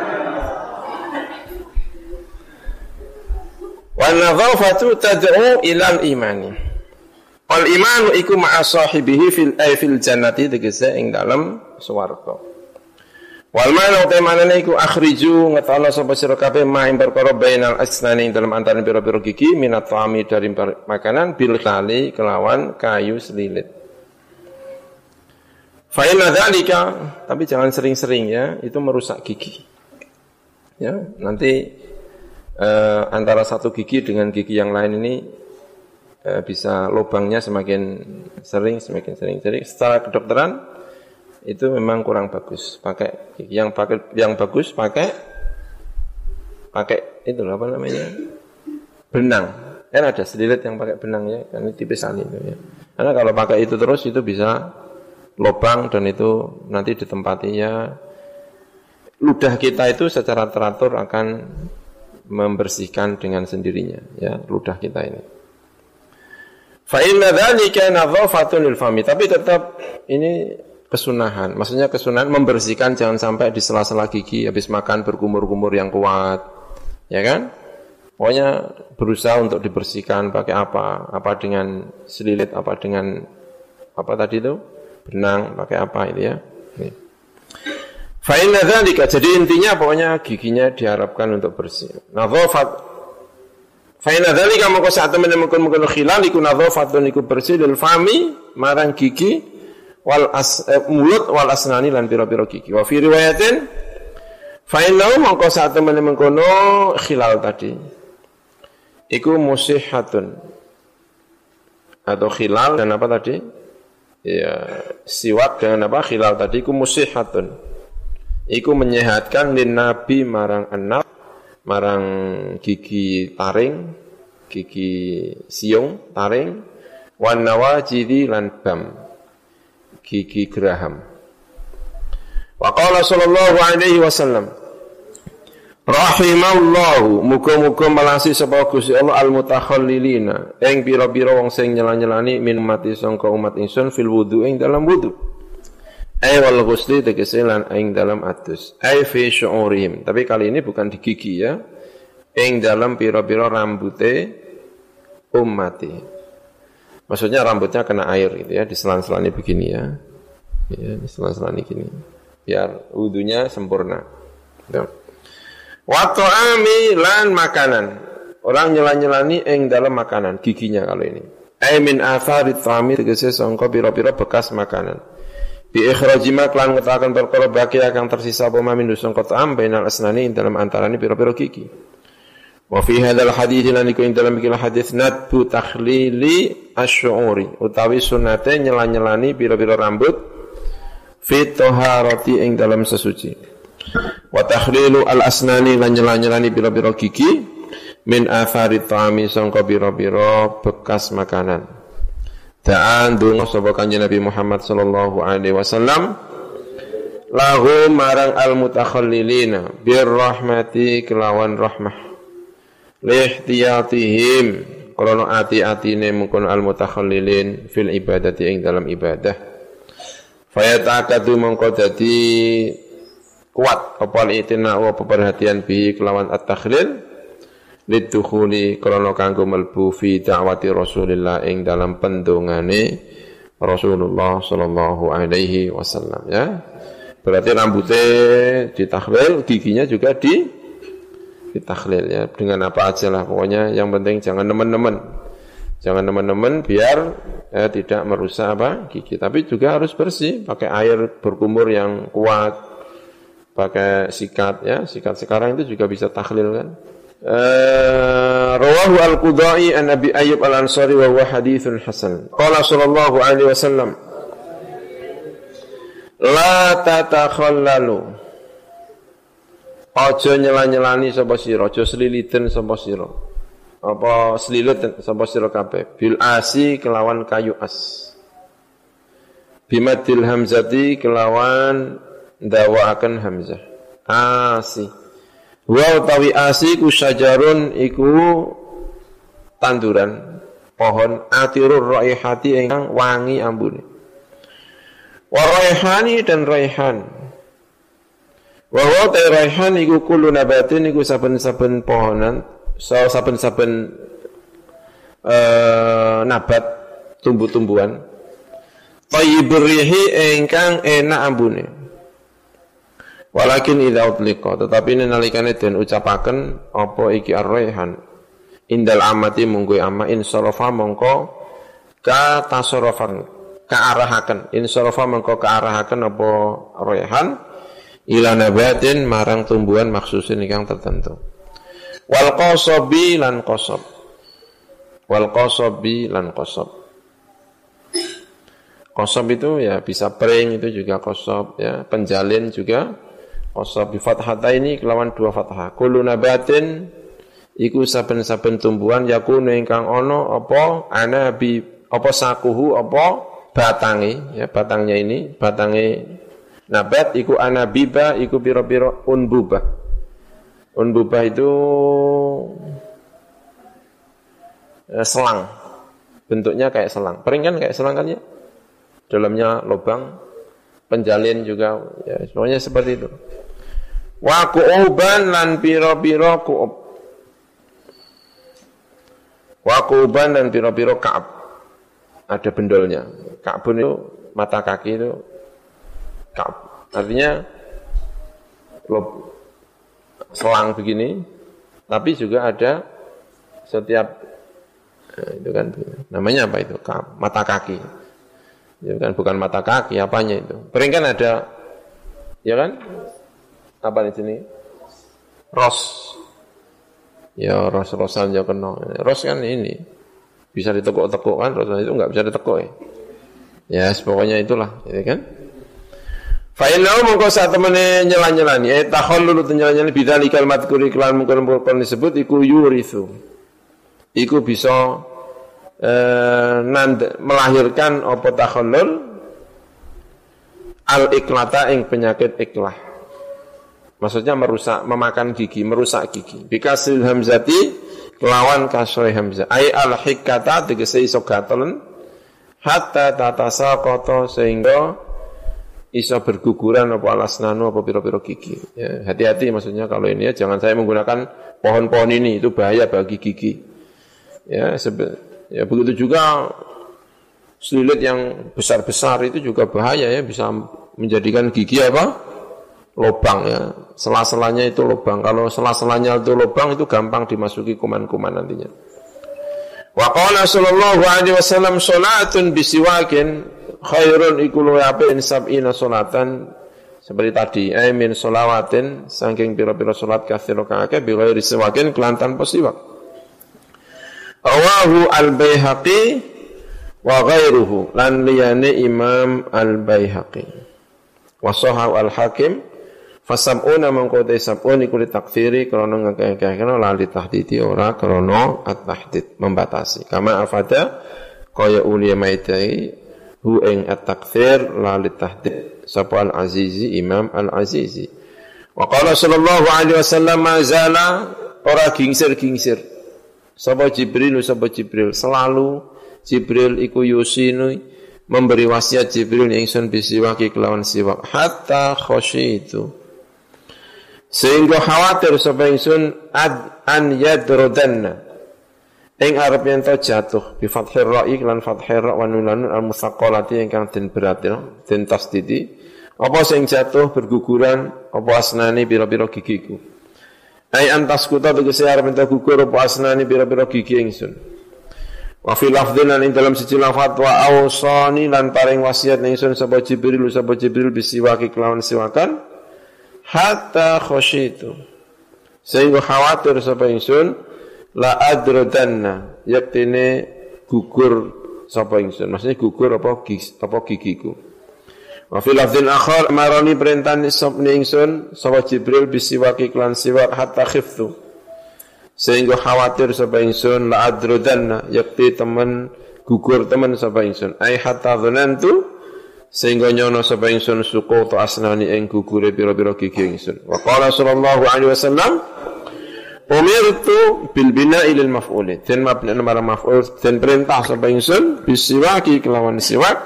Wa nadhafatu tad'u ilal imani. Wal imanu iku ma'a sahibihi fil ay fil jannati tegese ing dalem swarga. Wal ma'na utamane iku akhriju ngetana sapa sira kabeh maing perkara bainal asnani ing dalem antaraning pira-pira gigi minat ta'ami dari makanan bil kali kelawan kayu selilit. Fa inna dzalika, tapi jangan sering-sering ya, itu merusak gigi. Ya, nanti eh, antara satu gigi dengan gigi yang lain ini eh, bisa lubangnya semakin sering, semakin sering. Jadi secara kedokteran itu memang kurang bagus. Pakai yang pakai yang bagus pakai pakai itu apa namanya? Benang. Kan ada selilit yang pakai benang ya, kan tipis sekali itu ya. Karena kalau pakai itu terus itu bisa lubang dan itu nanti ditempatinya ludah kita itu secara teratur akan membersihkan dengan sendirinya ya ludah kita ini. Fa inna dzalika nadhafatun lil fami, tapi tetap ini kesunahan. Maksudnya kesunahan membersihkan, jangan sampai di sela-sela gigi habis makan berkumur-kumur yang kuat. Ya kan? Pokoknya berusaha untuk dibersihkan pakai apa? Apa dengan selilit, apa dengan apa tadi itu? Benang, pakai apa itu ya? Ini. Fa inna dzalika, jadi intinya pokoknya giginya diharapkan untuk bersih. Nadhafat fa inna dzalika moko sak temene mungkin-mungkin khilal iku nadhafatun iku bersih lil fami marang gigi wal as, eh, mulut wal asnani lan pira-pira gigi. Wa fi riwayatin fa innahu moko sak temene mengkono khilal tadi iku musihatun atau khilal dan apa tadi? Ya, siwak dengan apa? Khilal tadi iku musihatun. Iku menyehatkan lin nabi marang anak, marang gigi taring, gigi siung taring, wan nawajidi lan bam, gigi geraham. Wa qala sallallahu alaihi wasallam, rahimallahu, muga-muga melasi sapa Gusti Allah al-mutakhallilina, ing pira-pira wong sing nyela-nyelani min mati sangka umat ingsun fil wudu ing dalam wudu. Ai wal ghusli tegese lan ing dalam adus. Ai fi syu'urihim. Tapi kali ini bukan di gigi ya. Ing dalam pira-pira rambute ummati. Maksudnya rambutnya kena air gitu ya, diselan-selani begini ya. Ya, diselan-selani gini. Biar wudunya sempurna. Ya. Wa ta'ami lan makanan. Orang nyela-nyelani ing dalam makanan, giginya kalau ini. Ai min atharit ta'ami tegese sangka pira-pira bekas makanan. Bi ikhraji ma lan ngetakan perkara baki akan tersisa apa mamin sangka ta'am bainal asnani dalam antarane pira-pira gigi. Wa fi hadzal hadits lan iku ing dalam iki hadis nadbu takhlili asy'uri utawi sunate nyela-nyelani pira-pira rambut fi taharati ing dalam sesuci. Wa takhlilu al-asnani lan nyela-nyelani pira-pira gigi min athari ta'ami sangka pira-pira bekas makanan. Da'an dungo sapa Kanjeng Nabi Muhammad sallallahu alaihi wasallam lahu marang al-mutakhallilina birrahmati kelawan rahmah lihtiyatihim krana ati-atine mungkon al-mutakhallilin fil ibadati ing dalam ibadah fayata'akadu mongko dadi kuat apa itina apa perhatian bi kelawan at-takhlil lidukhuli krana kanggo mlebu fi da'wati Rasulillah ing dalam pendongane Rasulullah sallallahu alaihi wasallam ya. Berarti rambutnya ditakhlil, giginya juga di ditakhlil ya. Dengan apa aja lah pokoknya yang penting jangan nemen-nemen. Jangan nemen-nemen biar ya, tidak merusak apa gigi. Tapi juga harus bersih, pakai air berkumur yang kuat, pakai sikat ya. Sikat sekarang itu juga bisa takhlil kan. Uh, rawahu al-Qudai an Abi Ayyub al-Ansari wa huwa haditsun hasan. Qala sallallahu alaihi wasallam la tatakhallalu aja nyela-nyelani sapa sira, aja sliliten sapa sira. Apa slilit sapa sira kabeh bil asi kelawan kayu as. Bimadil hamzati kelawan ndawaaken hamzah. Asi. Wa utawi asi ku syajarun iku tanduran pohon atirur raihati ingkang wangi ambune. Wa raihani dan raihan. Wa wa ta raihan iku kullu nabatin iku saben-saben pohonan, saben-saben uh, nabat tumbuh-tumbuhan. Thayyibur rihi ingkang enak ambune. Walakin idza utliqa tetapi nalikane den ucapaken apa iki ar-raihan indal amati munggu amma insarafa mongko ka tasarrufan kaarahaken insarafa mongko kaarahaken apa raihan ila nabatin marang tumbuhan maksusin ingkang tertentu wal qasabi lan qasab wal qasabi lan qasab qasab itu ya bisa pring itu juga qasab ya penjalin juga qasab bi fathataini kelawan dua fathah kullu nabatin iku saben-saben tumbuhan yakunu ingkang ana apa ana bi apa sakuhu apa batange ya batangnya ini batange nabat iku anabiba iku pira-pira unbubah unbubah itu eh, selang bentuknya kayak selang pering kan kayak selang kan ya dalamnya lubang penjalin juga ya semuanya seperti itu wa qu'uban lan pira-pira qu'ub wa qu'uban dan pira-pira ka'ab ada bendolnya ka'bun itu mata kaki itu ka'ab artinya lob, selang begini tapi juga ada setiap nah, itu kan namanya apa itu ka'ab mata kaki itu kan bukan mata kaki apanya itu pering kan ada ya kan apa di sini? Ros. Ya ros-rosan ya kena. Ros kan ini bisa ditekuk-tekuk kan, rosan itu enggak bisa ditekuk ya. Ya, pokoknya itulah, ya kan? Fa innahu mongko sak temene nyela-nyelani, eh takhallulu nyela-nyelani bidzalikal madhkuri kelan mungkon-mungkon disebut iku yurithu. Iku bisa eh, nand, melahirkan apa takhallul al-iklata ing penyakit iklah. Maksudnya merusak, memakan gigi, merusak gigi. Bikasil hamzati kelawan kasroh hamzah. Ai al-hikata tegese iso gatelan hatta tatasaqata sehingga iso berguguran apa alasnanu apa pira-pira gigi. Ya, hati-hati maksudnya kalau ini ya jangan saya menggunakan pohon-pohon ini itu bahaya bagi gigi. Ya, sebe- ya begitu juga selilit yang besar-besar itu juga bahaya ya bisa menjadikan gigi apa? Lubang ya, sela-selanya itu lubang. Kalau sela-selanya itu lubang itu gampang dimasuki kuman-kuman nantinya. Wa qala sallallahu alaihi wasallam salatun bisiwakin khairun iku luwih apik sab'ina salatan Seperti tadi, ay min sholawatin saking pira-pira salat katsira kang akeh bi ghairi siwakin kelantan siwak. Rawahu al-Baihaqi wa ghairuhu lan liyane Imam al-Baihaqi. Wa sahahu al-Hakim fasab'una mangko te sab'un iku ditakfiri krana ngakeh-akehna lan ditahdidi ora krana at-tahdid membatasi. Kama afada kaya uliya maitai hu ing at-takfir la litahdid sapa al-Azizi Imam al-Azizi. Wa qala sallallahu alaihi wasallam mazala ora gingsir-gingsir. Sapa Jibril sapa Jibril selalu Jibril iku yusinu memberi wasiat Jibril ingsun bisiwaki kelawan siwak hatta khasyitu. Sehingga khawatir sapa ingsun ad an yadrudanna ing arep yen to jatuh bi fathir ra'i lan fathir ra' wa nunun al musaqqalati ingkang den berat den tasdidi apa sing jatuh berguguran apa asnane pira-pira gigiku ai antas kuta tegese arep ento gugur apa asnane pira-pira gigi ingsun wa fi lafdhin lan ing dalam siji lafaz wa ausani lan paring wasiat ingsun sapa Jibril sapa Jibril bisiwaki kelawan siwakan hatta khasyitu sehingga khawatir sapa ingsun la adrodanna yaktine gugur sapa ingsun maksudnya gugur apa gigi, apa gigiku wa fil lafdhin akhar marani perintah sabni ingsun sapa Jibril bisiwaki klan siwak hatta khiftu sehingga khawatir sapa ingsun la adrodanna yakti temen gugur temen sapa ingsun ai hatta dhanantu sehingga nyono sapa ingsun suku to asnani ing gugure pira-pira gigi ingsun wa qala sallallahu alaihi wasallam umirtu bil bina'i lil maf'uli den mabni marang maf'ul den perintah sapa ingsun bisiwaki kelawan siwak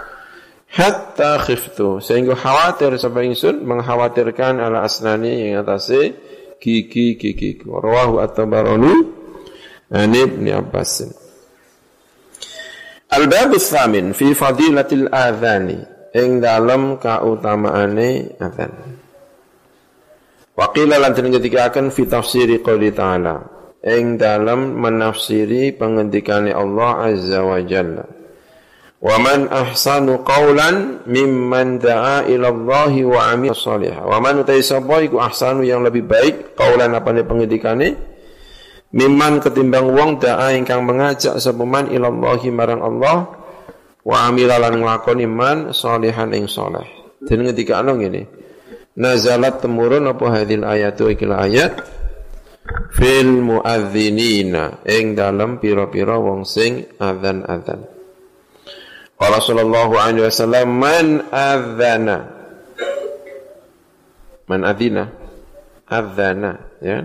hatta khiftu sehingga khawatir sapa ingsun mengkhawatirkan ala asnani ing atase gigi-gigiku rawahu at-Tabarani an Ibnu Abbas. Al-bab ats-tsamin fi fadilatil adzani ing dalem kautamaane adzan. Waqila lan den ngendikaken fi tafsiri qouli ta'ala ing dalam menafsiri pengendikane Allah azza wa jalla wa man ahsanu qawlan mimman da'a ila Allahi wa amila shalihan wa man utai sapa iku ahsanu yang lebih baik qawlan apane pengendikane mimman ketimbang wong da'a ingkang mengajak sapa man ila Allahi marang Allah wa amila lan nglakoni man shalihan ing saleh den ngendikane ngene nazalat temurun apa hadil ayatu ikil ayat fil muadzinina ing dalam pira-pira wong sing adzan-adzan. Qala sallallahu alaihi wasallam man adzana man adzina adzana ya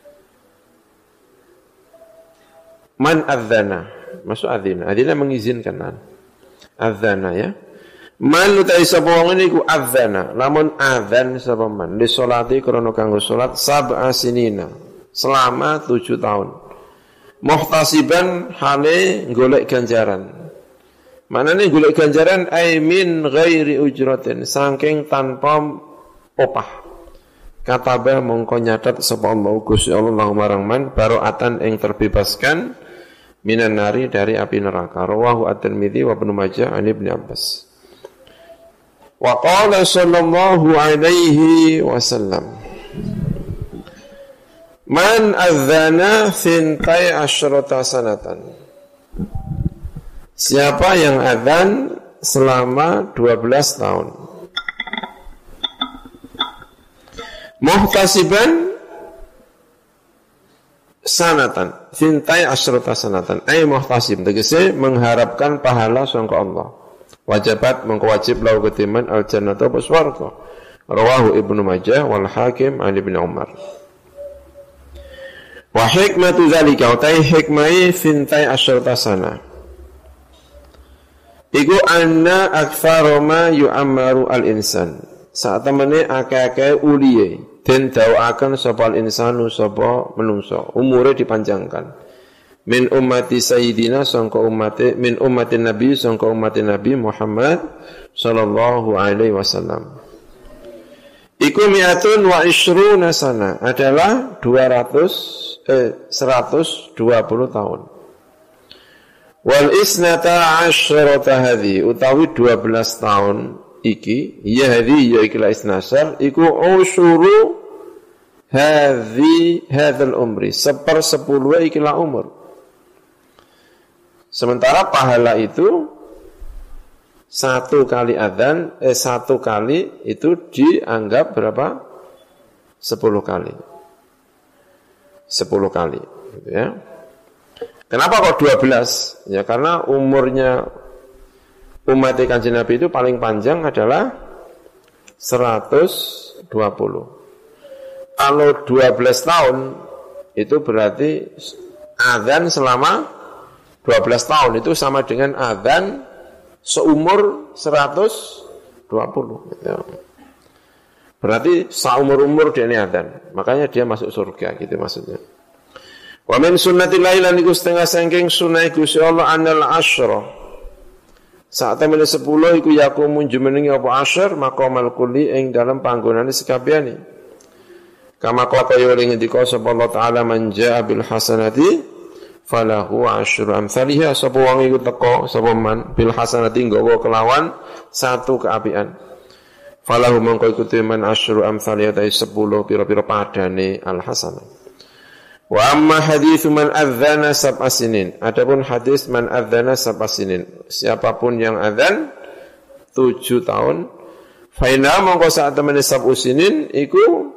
man adzana maksud adzina adzina mengizinkan adzana ya man utai sapa wong niku adzana lamun adzan sapa man li sholati krana kanggo salat sab'a sinina selama tujuh tahun muhtasiban hale golek ganjaran manane golek ganjaran ai min ghairi ujratin saking tanpa opah kataba mongko nyatet sapa Allah Gusti Allah marang man baroatan ing terbebaskan minan nari dari api neraka rawahu at-Tirmidzi wa Ibnu Majah an Ibnu Abbas. Wa qala sallallahu alaihi wasallam man adzana thintai asyrata sanatan siapa yang adzan selama dua belas tahun muhtasiban sanatan thintai asyrata sanatan ay muhtasib tegese mengharapkan pahala sangka Allah wajibat mengkewajib lau ketiman al-jannata wa swarga rawahu Ibnu Majah wal Hakim an Ibnu Umar wa hikmatu dzalika utai hikmai fintai asyrata sana iku anna aktsara ma yu'ammaru al-insan saat temene akeh-akeh uliye den dawaken sapa al-insanu sapa menungso umure dipanjangkan min ummati sayyidina sangka ummati min ummati nabi sangka ummati nabi Muhammad sallallahu alaihi wasallam iku mi'atun wa ishruna sana adalah dua ratus eh seratus dua puluh tahun wal isnata asyrata hadhi utawi dua belas tahun iki ya hadhi ya ikilah isnasar iku usuru hadhi hadzal umri seper sepuluh ikilah umur. Sementara pahala itu satu kali adzan eh satu kali itu dianggap berapa? Sepuluh kali. Sepuluh kali gitu ya. Kenapa kok dua belas? Ya karena umurnya umat Kanjeng Nabi itu paling panjang adalah seratus dua puluh. Kalau dua belas tahun itu berarti adzan selama dua belas tahun itu sama dengan adzan seumur seratus dua puluh. Berarti seumur-umur dia ini adzan. Makanya dia masuk surga gitu maksudnya. Wa min sunnatil lailan iku setengah saking sunah Gusti Allah anal asyra. Saat temen sepuluh iku yakumun jumenengi apa asyr maqamal kulli ing dalam panggonane sekabehane. Kama qala ya ngendika sapa Allah taala man jaa bil hasanati falahu asyru amsalihha sapa wong iku teka sapa man bil hasanati nggawa kelawan satu keapian. Falahu mongko iku man asyru amsalihha ta sepuluh pira-pira padane al hasanah. Wa amma hadis man adzana sab'a sinin. Adapun hadis man adzana sab'a sinin. Siapapun yang adzan tujuh tahun, fa inna mongko sak temene sab'u sinin iku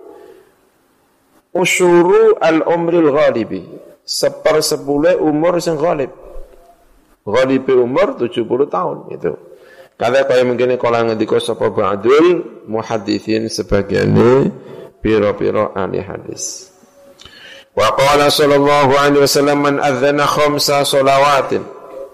usyuru al-umril ghalibi. Seper sepuluh umur sing ghalib. Ghalibi umur tujuh puluh tahun itu. Kada kaya mungkin kala ngendika sapa ba'dul muhadditsin sebagiane pira-pira ahli hadis. Wa qala sallallahu alaihi wasallam man adzana khamsa shalawatin.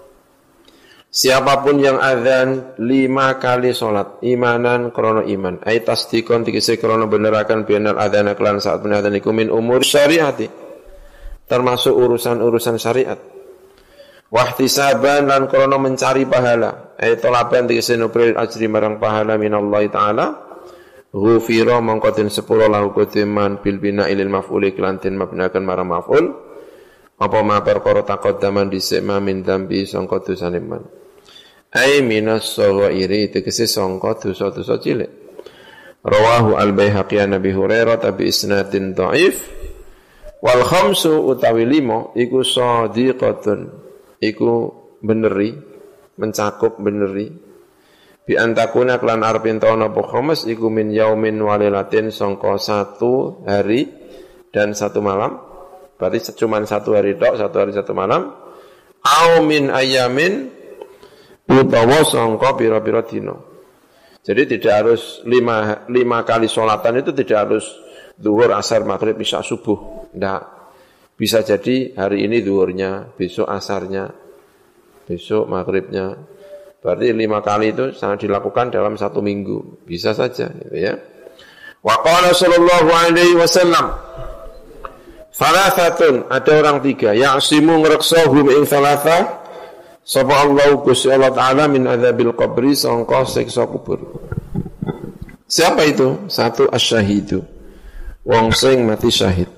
Siapapun yang adzan lima kali salat imanan krana iman ai tasdikon tegese krana beneraken binal adzana kelan saat penadzan iku min umur syariati termasuk urusan-urusan syariat. Wa ihtisaban lan krana mencari pahala ai talaban tegese nupril ajri marang pahala minallahi taala. Ghufira mangkotin sepuluh lahu kutiman bil bina ilil maf'uli kelantin mabnakan marang maf'ul apa ma perkara taqaddaman dhisik ma min dambi sangka dosane man ai minas saghairi tegese sangka dosa-dosa cilik. Rawahu al-Baihaqi an Abi Hurairah bi isnadin dhaif wal khamsu utawi lima iku shadiqatun iku beneri mencakup beneri bi antakuna klan arpin taun apa khamis iku min yaumin walilatin sangka satu hari dan satu malam. Berarti cuma satu hari tok, satu hari satu malam. Au min ayamin utawa sangka pira-pira dina. Jadi tidak harus lima, lima kali sholatan itu tidak harus zuhur, asar, maghrib, isya, subuh. Tidak. Bisa jadi hari ini zuhurnya, besok asarnya, besok maghribnya. Berarti lima kali itu sangat dilakukan dalam satu minggu. Bisa saja gitu ya. Wa qala sallallahu alaihi wasallam Salasatun, ada orang tiga ya'simu ngreksahum ing salasa sapa Allah Gusti Allah taala min adzabil qabri sangka siksa kubur. Siapa itu? Satu asy-syahidu. Wong sing mati syahid.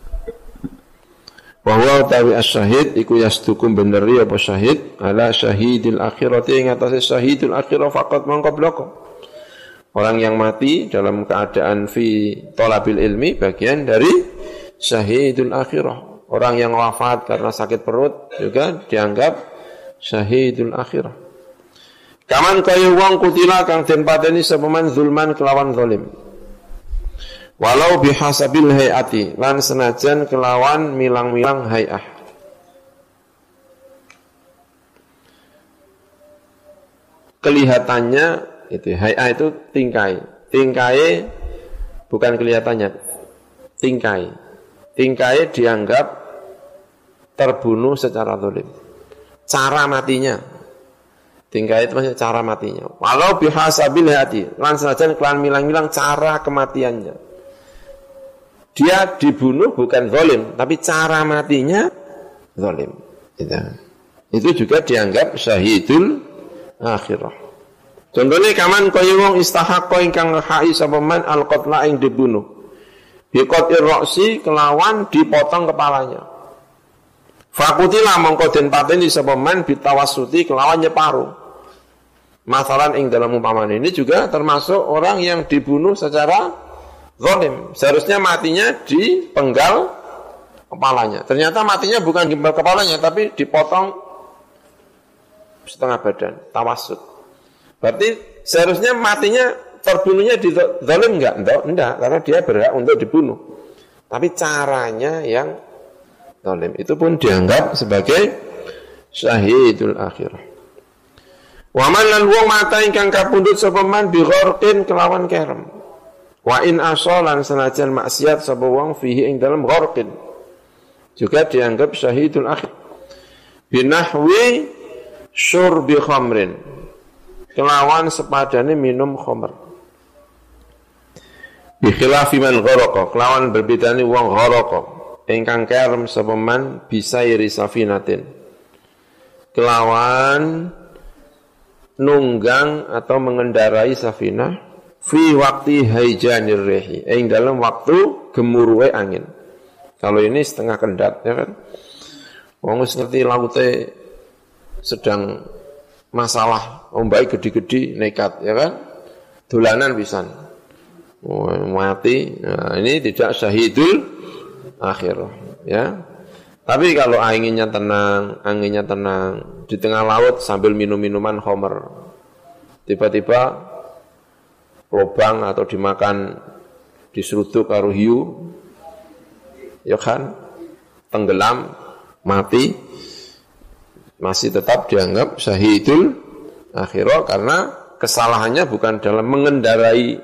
Wa huwa tawi as-syahid iku yasdukum beneri apa syahid ala syahidil akhirati ing atase syahidul akhirah faqat mangko bloko. Orang yang mati dalam keadaan fi thalabil ilmi bagian dari syahidul akhirah. Orang yang wafat karena sakit perut juga dianggap syahidul akhirah. Kaman kaya wong kutila kang den pateni sapa man zulman kelawan zalim. Walau bihasabil hayati lan senajan kelawan milang-milang hayah. Kelihatannya itu hayah itu tingkai. Tingkai bukan kelihatannya. Tingkai. Tingkai dianggap terbunuh secara zalim. Cara matinya. Tingkai itu maksudnya cara matinya. Walau bihasabil hayati lan senajan kelawan milang-milang cara kematiannya. Dia dibunuh bukan zalim, tapi cara matinya zalim. Itu. Itu juga dianggap syahidul akhirah. Contohnya kaman kaya wong istahaqqa ingkang ngehaki sapa man al-qatla ing dibunuh. Bi qatir ra'si kelawan dipotong kepalanya. Fakutila mongko den pateni sapa man bitawassuti kelawan nyeparuh. Masalan ing dalam umpamaan ini juga termasuk orang yang dibunuh secara zalim. Seharusnya matinya dipenggal kepalanya. Ternyata matinya bukan dipenggal kepalanya, tapi dipotong setengah badan, tawassut. Berarti seharusnya matinya terbunuhnya di zalim enggak? Enggak, enggak, karena dia berhak untuk dibunuh. Tapi caranya yang zalim itu pun dianggap sebagai syahidul akhirah. Wa man lan wong mata ingkang kapundhut sapa man bi gharqin kelawan kerem. Wa in asalan senajan maksiat sapa wong fihi ing dalam gharqin. Juga dianggap syahidul akhir. Binahwi syurbi khamrin. Kelawan sepadane minum khamr. Bi khilafi man gharaqa, kelawan berbedane wong gharaqa. Ingkang kerem sapa man bisa iri safinatin. Kelawan nunggang atau mengendarai safinah fi waktu haijanir rehi, ing dalam waktu gemuruhe angin. Kalau ini setengah kendat, ya kan? Wong wis ngerti laute sedang masalah, ombake gede-gede nekat, ya kan? Dolanan pisan. Oh, mati. Nah, ini tidak syahidul akhir, ya. Tapi kalau anginnya tenang, anginnya tenang, di tengah laut sambil minum-minuman khamr, tiba-tiba lubang atau dimakan diseruduk karo hiu, ya kan, tenggelam, mati, masih tetap dianggap syahidul akhirah karena kesalahannya bukan dalam mengendarai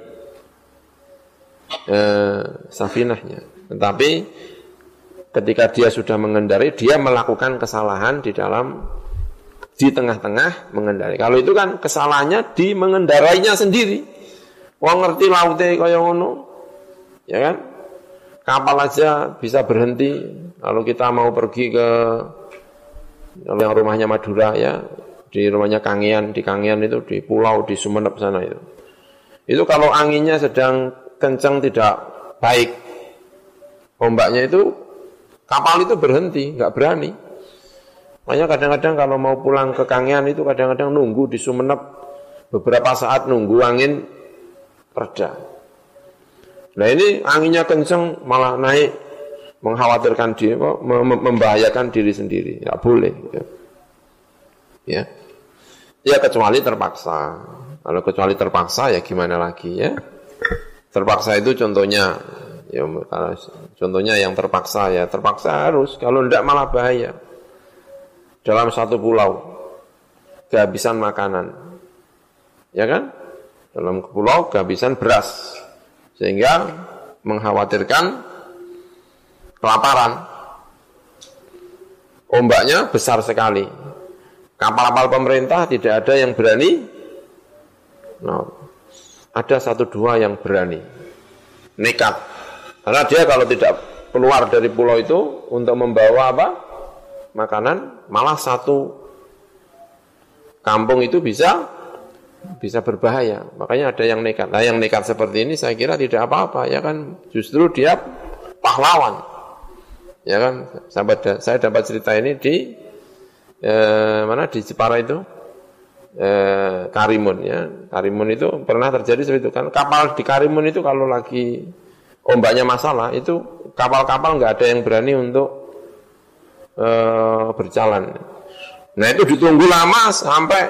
eh, safinahnya, tetapi ketika dia sudah mengendarai, dia melakukan kesalahan di dalam, di tengah-tengah mengendarai. Kalau itu kan kesalahannya di mengendarainya sendiri. Wong ngerti laute kaya ngono, ya kan? Kapal aja bisa berhenti. Kalau kita mau pergi ke yang rumahnya Madura, ya, di rumahnya Kangean, di Kangean itu, di pulau, di Sumenep sana itu. Itu kalau anginnya sedang kencang tidak baik, ombaknya itu, kapal itu berhenti, nggak berani. Makanya kadang-kadang kalau mau pulang ke Kangean itu kadang-kadang nunggu di Sumenep beberapa saat nunggu angin reda. Nah ini anginnya kencang malah naik, mengkhawatirkan diri, membahayakan diri sendiri, nggak boleh. Ya. ya, ya kecuali terpaksa. Kalau kecuali terpaksa ya gimana lagi ya? Terpaksa itu contohnya. Ya, contohnya yang terpaksa ya, terpaksa harus, kalau tidak malah bahaya. Dalam satu pulau kehabisan makanan, ya kan? Dalam pulau kehabisan beras, sehingga mengkhawatirkan kelaparan. Ombaknya besar sekali. Kapal-kapal pemerintah tidak ada yang berani. Nah, ada satu dua yang berani, nekat. Karena dia kalau tidak keluar dari pulau itu untuk membawa apa? Makanan, malah satu kampung itu bisa bisa berbahaya. Makanya ada yang nekat. Nah, yang nekat seperti ini saya kira tidak apa-apa, ya kan? Justru dia pahlawan. Ya kan? Sahabat, saya dapat cerita ini di eh, mana di Jepara itu? Eh, Karimun ya. Karimun itu pernah terjadi seperti itu kan. Kapal di Karimun itu kalau lagi ombaknya masalah, itu kapal-kapal nggak ada yang berani untuk uh, berjalan. Nah itu ditunggu lama sampai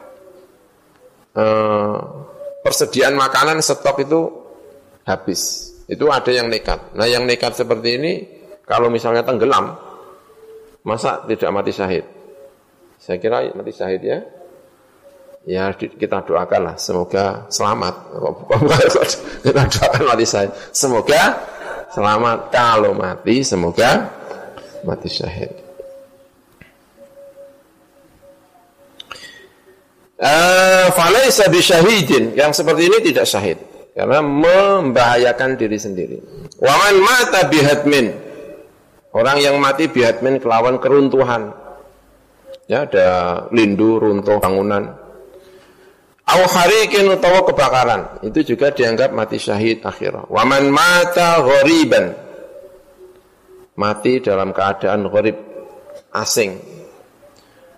uh, persediaan makanan stok itu habis. Itu ada yang nekat. Nah yang nekat seperti ini, kalau misalnya tenggelam, masa tidak mati syahid? Saya kira mati syahid ya. Ya kita doakanlah semoga selamat. Kita doakan mati syahid. Semoga selamat. Kalau mati semoga mati syahid. Uh, Falaisa bisyahidin, yang seperti ini tidak syahid karena membahayakan diri sendiri. Wa man mata bihatmin, orang yang mati bihatmin kelawan keruntuhan. Ya ada lindu runtuh bangunan. Au harikin utawa kebakaran, itu juga dianggap mati syahid akhirah. Wa man mata ghoriban, mati dalam keadaan gharib, asing.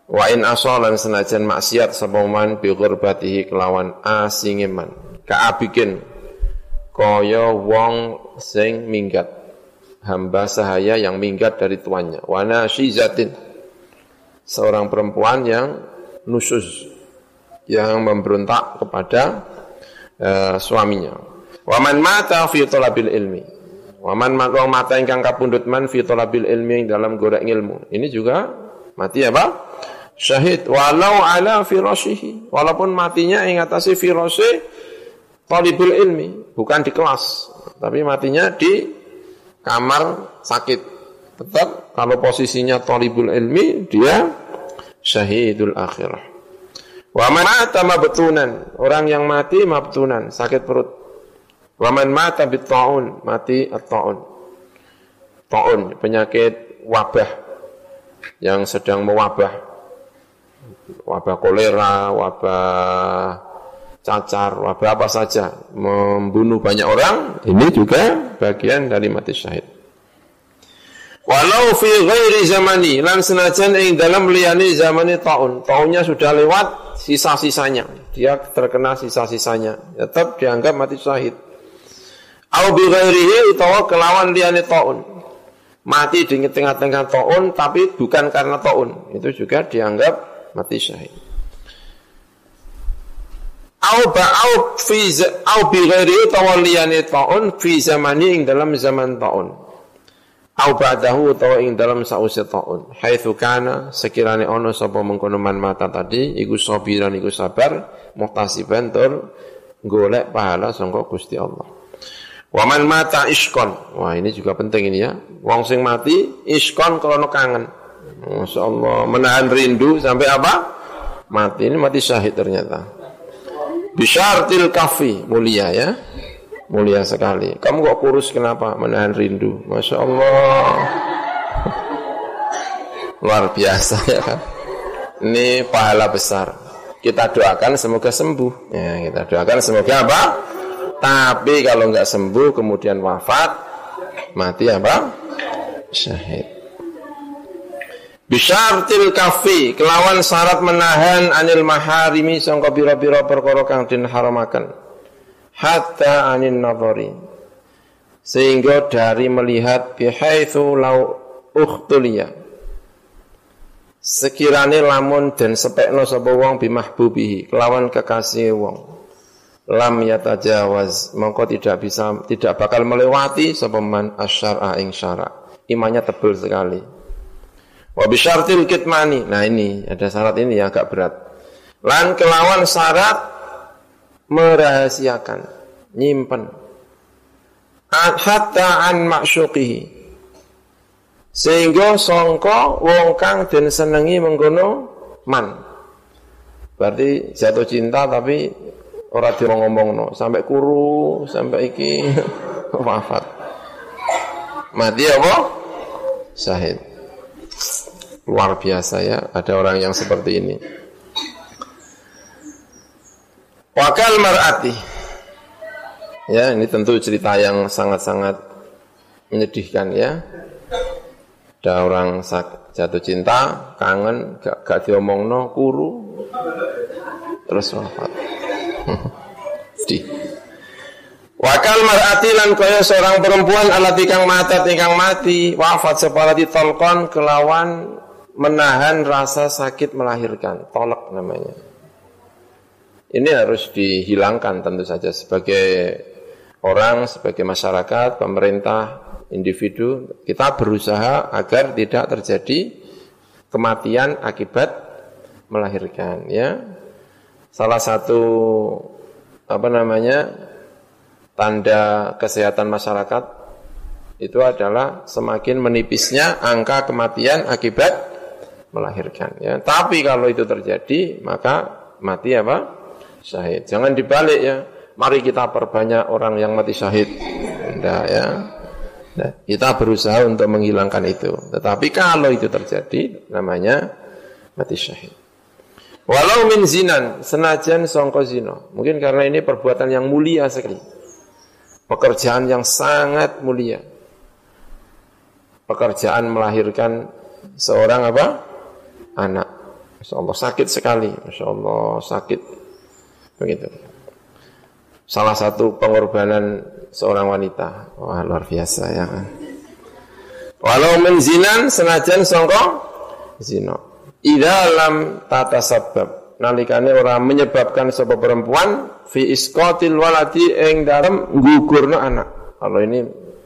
Wa in asalan senajan maksiat sapa man bi ghurbatihi kelawan asinge man. Kaabikin kaya wong sing minggat. Hamba sahaya yang minggat dari tuannya. Wa nasyizatin seorang perempuan yang nusyuz, yang memberontak kepada uh, suaminya. Wa man mata fi talabil ilmi. Wa man mata ingkang kapundhut man fi talabil ilmi dalam golek ilmu. Ini juga mati apa? Syahid walau ala firashihi, walaupun matinya ing atase firashe talibul ilmi, bukan di kelas, tapi matinya di kamar sakit. Tetap kalau posisinya talibul ilmi dia syahidul akhirah. Wa man mata mabtunan, orang yang mati mabtunan, sakit perut. Wa man mata bit-taun, mati at-taun. Taun penyakit wabah yang sedang mewabah. Wabah kolera, wabah cacar, wabah apa saja, membunuh banyak orang, ini juga bagian dari mati syahid. Walau fi ghairi zamani, lan senajan ing dalam liyane zamane taun, taunnya sudah lewat, sisa-sisanya, dia terkena sisa-sisanya, tetap dianggap mati syahid. Au bi ghairihi utawa kelawan liyane taun, mati di tengah-tengah taun tapi bukan karena taun, itu juga dianggap mati syahid. Au ba'au fi au bi ghairi tawalliyani ta'un fi zamani ing dalam zaman ta'un. Au ba'dahu tawa ing dalam sause ta'un. Haitsu kana sekirane ono sapa mengkono man mata tadi iku sabiran iku sabar muhtasiban tur golek pahala sangka Gusti Allah. Wa man mata iskon. Wah, ini juga penting ini ya. Wong sing mati iskon krana kangen. Masya Allah, menahan rindu sampai apa? Mati, ini mati syahid ternyata. Bisyartil kafi, mulia ya. Mulia sekali. Kamu kok kurus kenapa? Menahan rindu. Masya Allah. Luar biasa ya kan. Ini pahala besar. Kita doakan semoga sembuh. Ya, kita doakan semoga apa? Tapi kalau enggak sembuh kemudian wafat, mati apa? Syahid. Bisyartil kafi, kelawan syarat menahan anil maharimi sangka bira-bira perkara kang den haramaken. Hatta anin nadhari. Sehingga dari melihat bihaitsu lau ukhtuliya. Sekirane lamun den sepekno sapa wong bimahbubihi, kelawan kekasih wong. Lam yatajawaz, mongko tidak bisa tidak bakal melewati sapa man asyara ing syara. Imannya tebal sekali. Wa bisyartil kitmani. Nah ini ada syarat ini yang agak berat. Lan kelawan syarat merahasiakan, nyimpen. Hatta an maksyuqihi. Sehingga sangka wong kang den senengi mengkono man. Berarti jatuh cinta tapi ora diomong-omongno, sampai kuru, sampai iki wafat. Mati apa? Syahid. Luar biasa ya, ada orang yang seperti ini. Wakal mar'ati. Ya, ini tentu cerita yang sangat-sangat menyedihkan ya. Ada orang jatuh cinta, kangen, gak, gak diomongno, kuru, terus wafat. Sedih. Wakal mar'ati lan kaya seorang perempuan alati kang matat ingkang mati wafat separati tolkon kelawan menahan rasa sakit melahirkan, tolak namanya. Ini harus dihilangkan tentu saja sebagai orang, sebagai masyarakat, pemerintah, individu, kita berusaha agar tidak terjadi kematian akibat melahirkan ya. Salah satu apa namanya tanda kesehatan masyarakat itu adalah semakin menipisnya angka kematian akibat melahirkan ya. Tapi kalau itu terjadi maka mati apa? Syahid. Jangan dibalik ya. Mari kita perbanyak orang yang mati syahid. Tidak ya. Nah, kita berusaha untuk menghilangkan itu. Tetapi kalau itu terjadi namanya mati syahid. Walau min zinan, senajan sangka zina. Mungkin karena ini perbuatan yang mulia sekali. Pekerjaan yang sangat mulia. Pekerjaan melahirkan seorang apa? Anak. Masya Allah sakit sekali, Masya Allah sakit. Begitu. Salah satu pengorbanan seorang wanita. Wah luar biasa ya kan. Walau menzinan senajan sangka zina. Idza lam tatasabab. Nalikane ora menyebabkan sebab perempuan fi isqatil waladi ing dalem gugurna anak. Kalau ini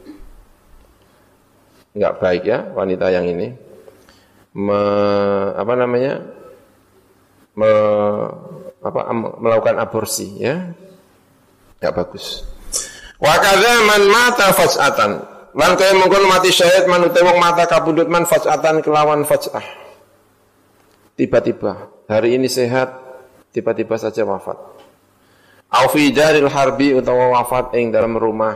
enggak baik ya wanita yang ini. Me, apa namanya? Me, apa melakukan aborsi ya. Enggak bagus. Wa kadza man mata fas'atan. Lan kaya mungkon mati syahid man utawa wong mata kabundut man fas'atan kelawan fas'ah. Tiba-tiba hari ini sehat, tiba-tiba saja wafat. Au fi daril harbi utawa wafat ing dalam rumah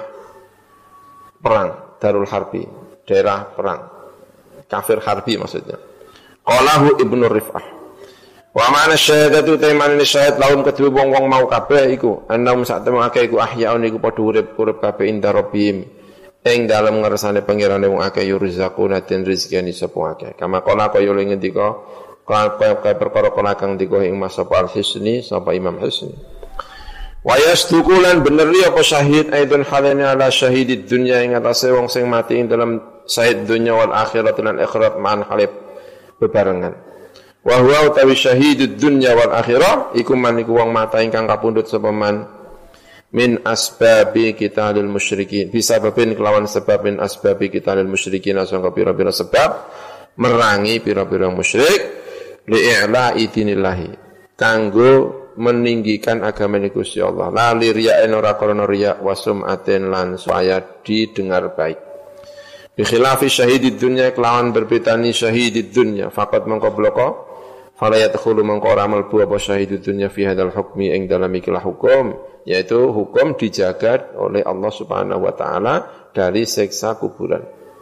perang, darul harbi, daerah perang. Kafir harbi maksudnya. Qalahu Ibnu Rif'ah. Wa ma'ana syahadatu taiman syahid lahum kedue wong-wong mau kabeh iku, annahum sa'temu akeh iku ahyaun iku padha urip-urip kabeh inda rabbihim. Ing dalem ngersane pangirane wong akeh yurzaquna den rezekine sapa akeh. Kama qala kaya ngendika kaya perkara kala kang dikoh ing Mas Sapa Al-Hisni sapa Imam Hisni. Wa yasduqulan bener apa syahid aidun halana ala syahidid dunya ing atase wong sing mati ing dalam syahid dunya wal akhirat lan akhirat ma'an halib bebarengan. Wa huwa utawi syahidud dunya wal akhirah iku man iku wong mata ingkang kapundhut sapa man min asbabi qitalil musyrikin bisa babin kelawan sebab min asbabi qitalil musyrikin asangka pira-pira sebab merangi pira-pira musyrik li'la'i dinillahi kanggo meninggikan agama Gusti Allah la li riya'in ora krana riya' wa sum'atin lan supaya didengar baik bi khilafi syahidid dunya kelawan berbedani syahidid dunya faqat mangko bloko fala yadkhulu mangko ora mlebu apa syahidid dunya fi hadzal hukmi ing dalam ikilah hukum yaitu hukum dijaga oleh Allah Subhanahu wa taala dari siksa kuburan.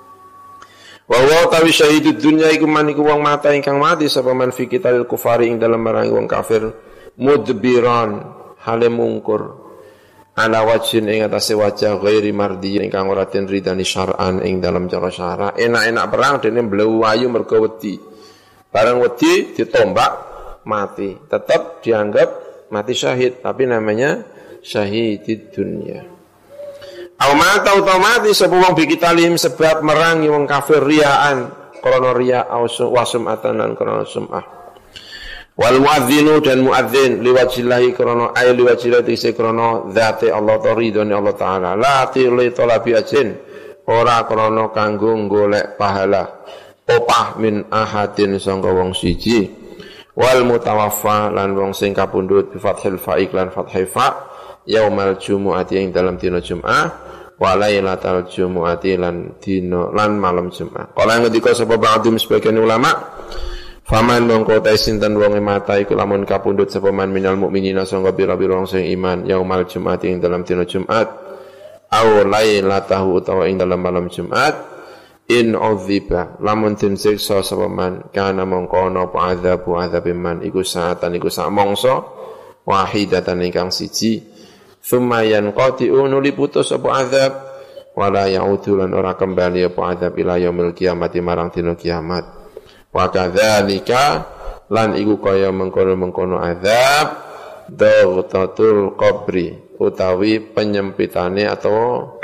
Wa wa tawi syahidud dunya iku man iku wong mata ingkang mati sapa man fi qitalil kufari ing dalem merangi wong kafir mudbiran hale mungkur ala wajhin ing atase wajah ghairi mardi ingkang ora den ridani syar'an ing dalem cara syara enak-enak perang dene mblewu ayu mergo wedi bareng wedi ditombak mati tetap dianggap mati syahid tapi namanya syahidid dunya. Au mata otomatis sapa wong bikitalim sebab merangi wong kafir riaan krana riya au wasumatan lan krana sum'ah. Wal muadzinu dan muadzin liwajillahi krana ay liwajillahi se krana zate Allah ridhone Allah taala la tili talabi ajin ora krana kanggo golek pahala opah min ahadin sangka wong siji wal mutawaffa lan wong sing kapundhut bi fathil fa'iq lan fathil fa' yaumal jumu'ati ing dalam dina Jumat wa lailatal jumu'ati lan dina lan malam Jumat. Kala ngendika sapa ba'dhum sebagian ulama, faman mongko ta sinten wong mata iku lamun kapundhut sapa man minal mukminina sangga pira-pira wong sing iman yaumal jumu'ati ing dalam dina Jumat aw lailatahu utawa ing dalam malam Jumat in udziba lamun den siksa sapa man kana mongko ana apa adzabu adzabim iku saatan iku sak mangsa wahidatan ingkang siji thumma yanqati'u nuli putus apa azab wala ya'udu lan ora kembali apa azab ila yaumil kiamati marang dina kiamat wa kadzalika lan iku kaya mengkono-mengkono azab daghtatul qabri utawi penyempitane atau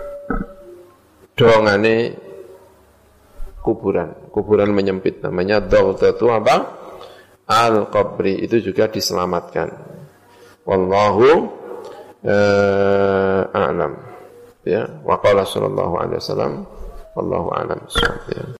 dongane kuburan kuburan menyempit namanya daghtatu apa al qabri itu juga diselamatkan wallahu Uh, a'lam ya wa qala sallallahu alaihi wasallam wallahu a'lam.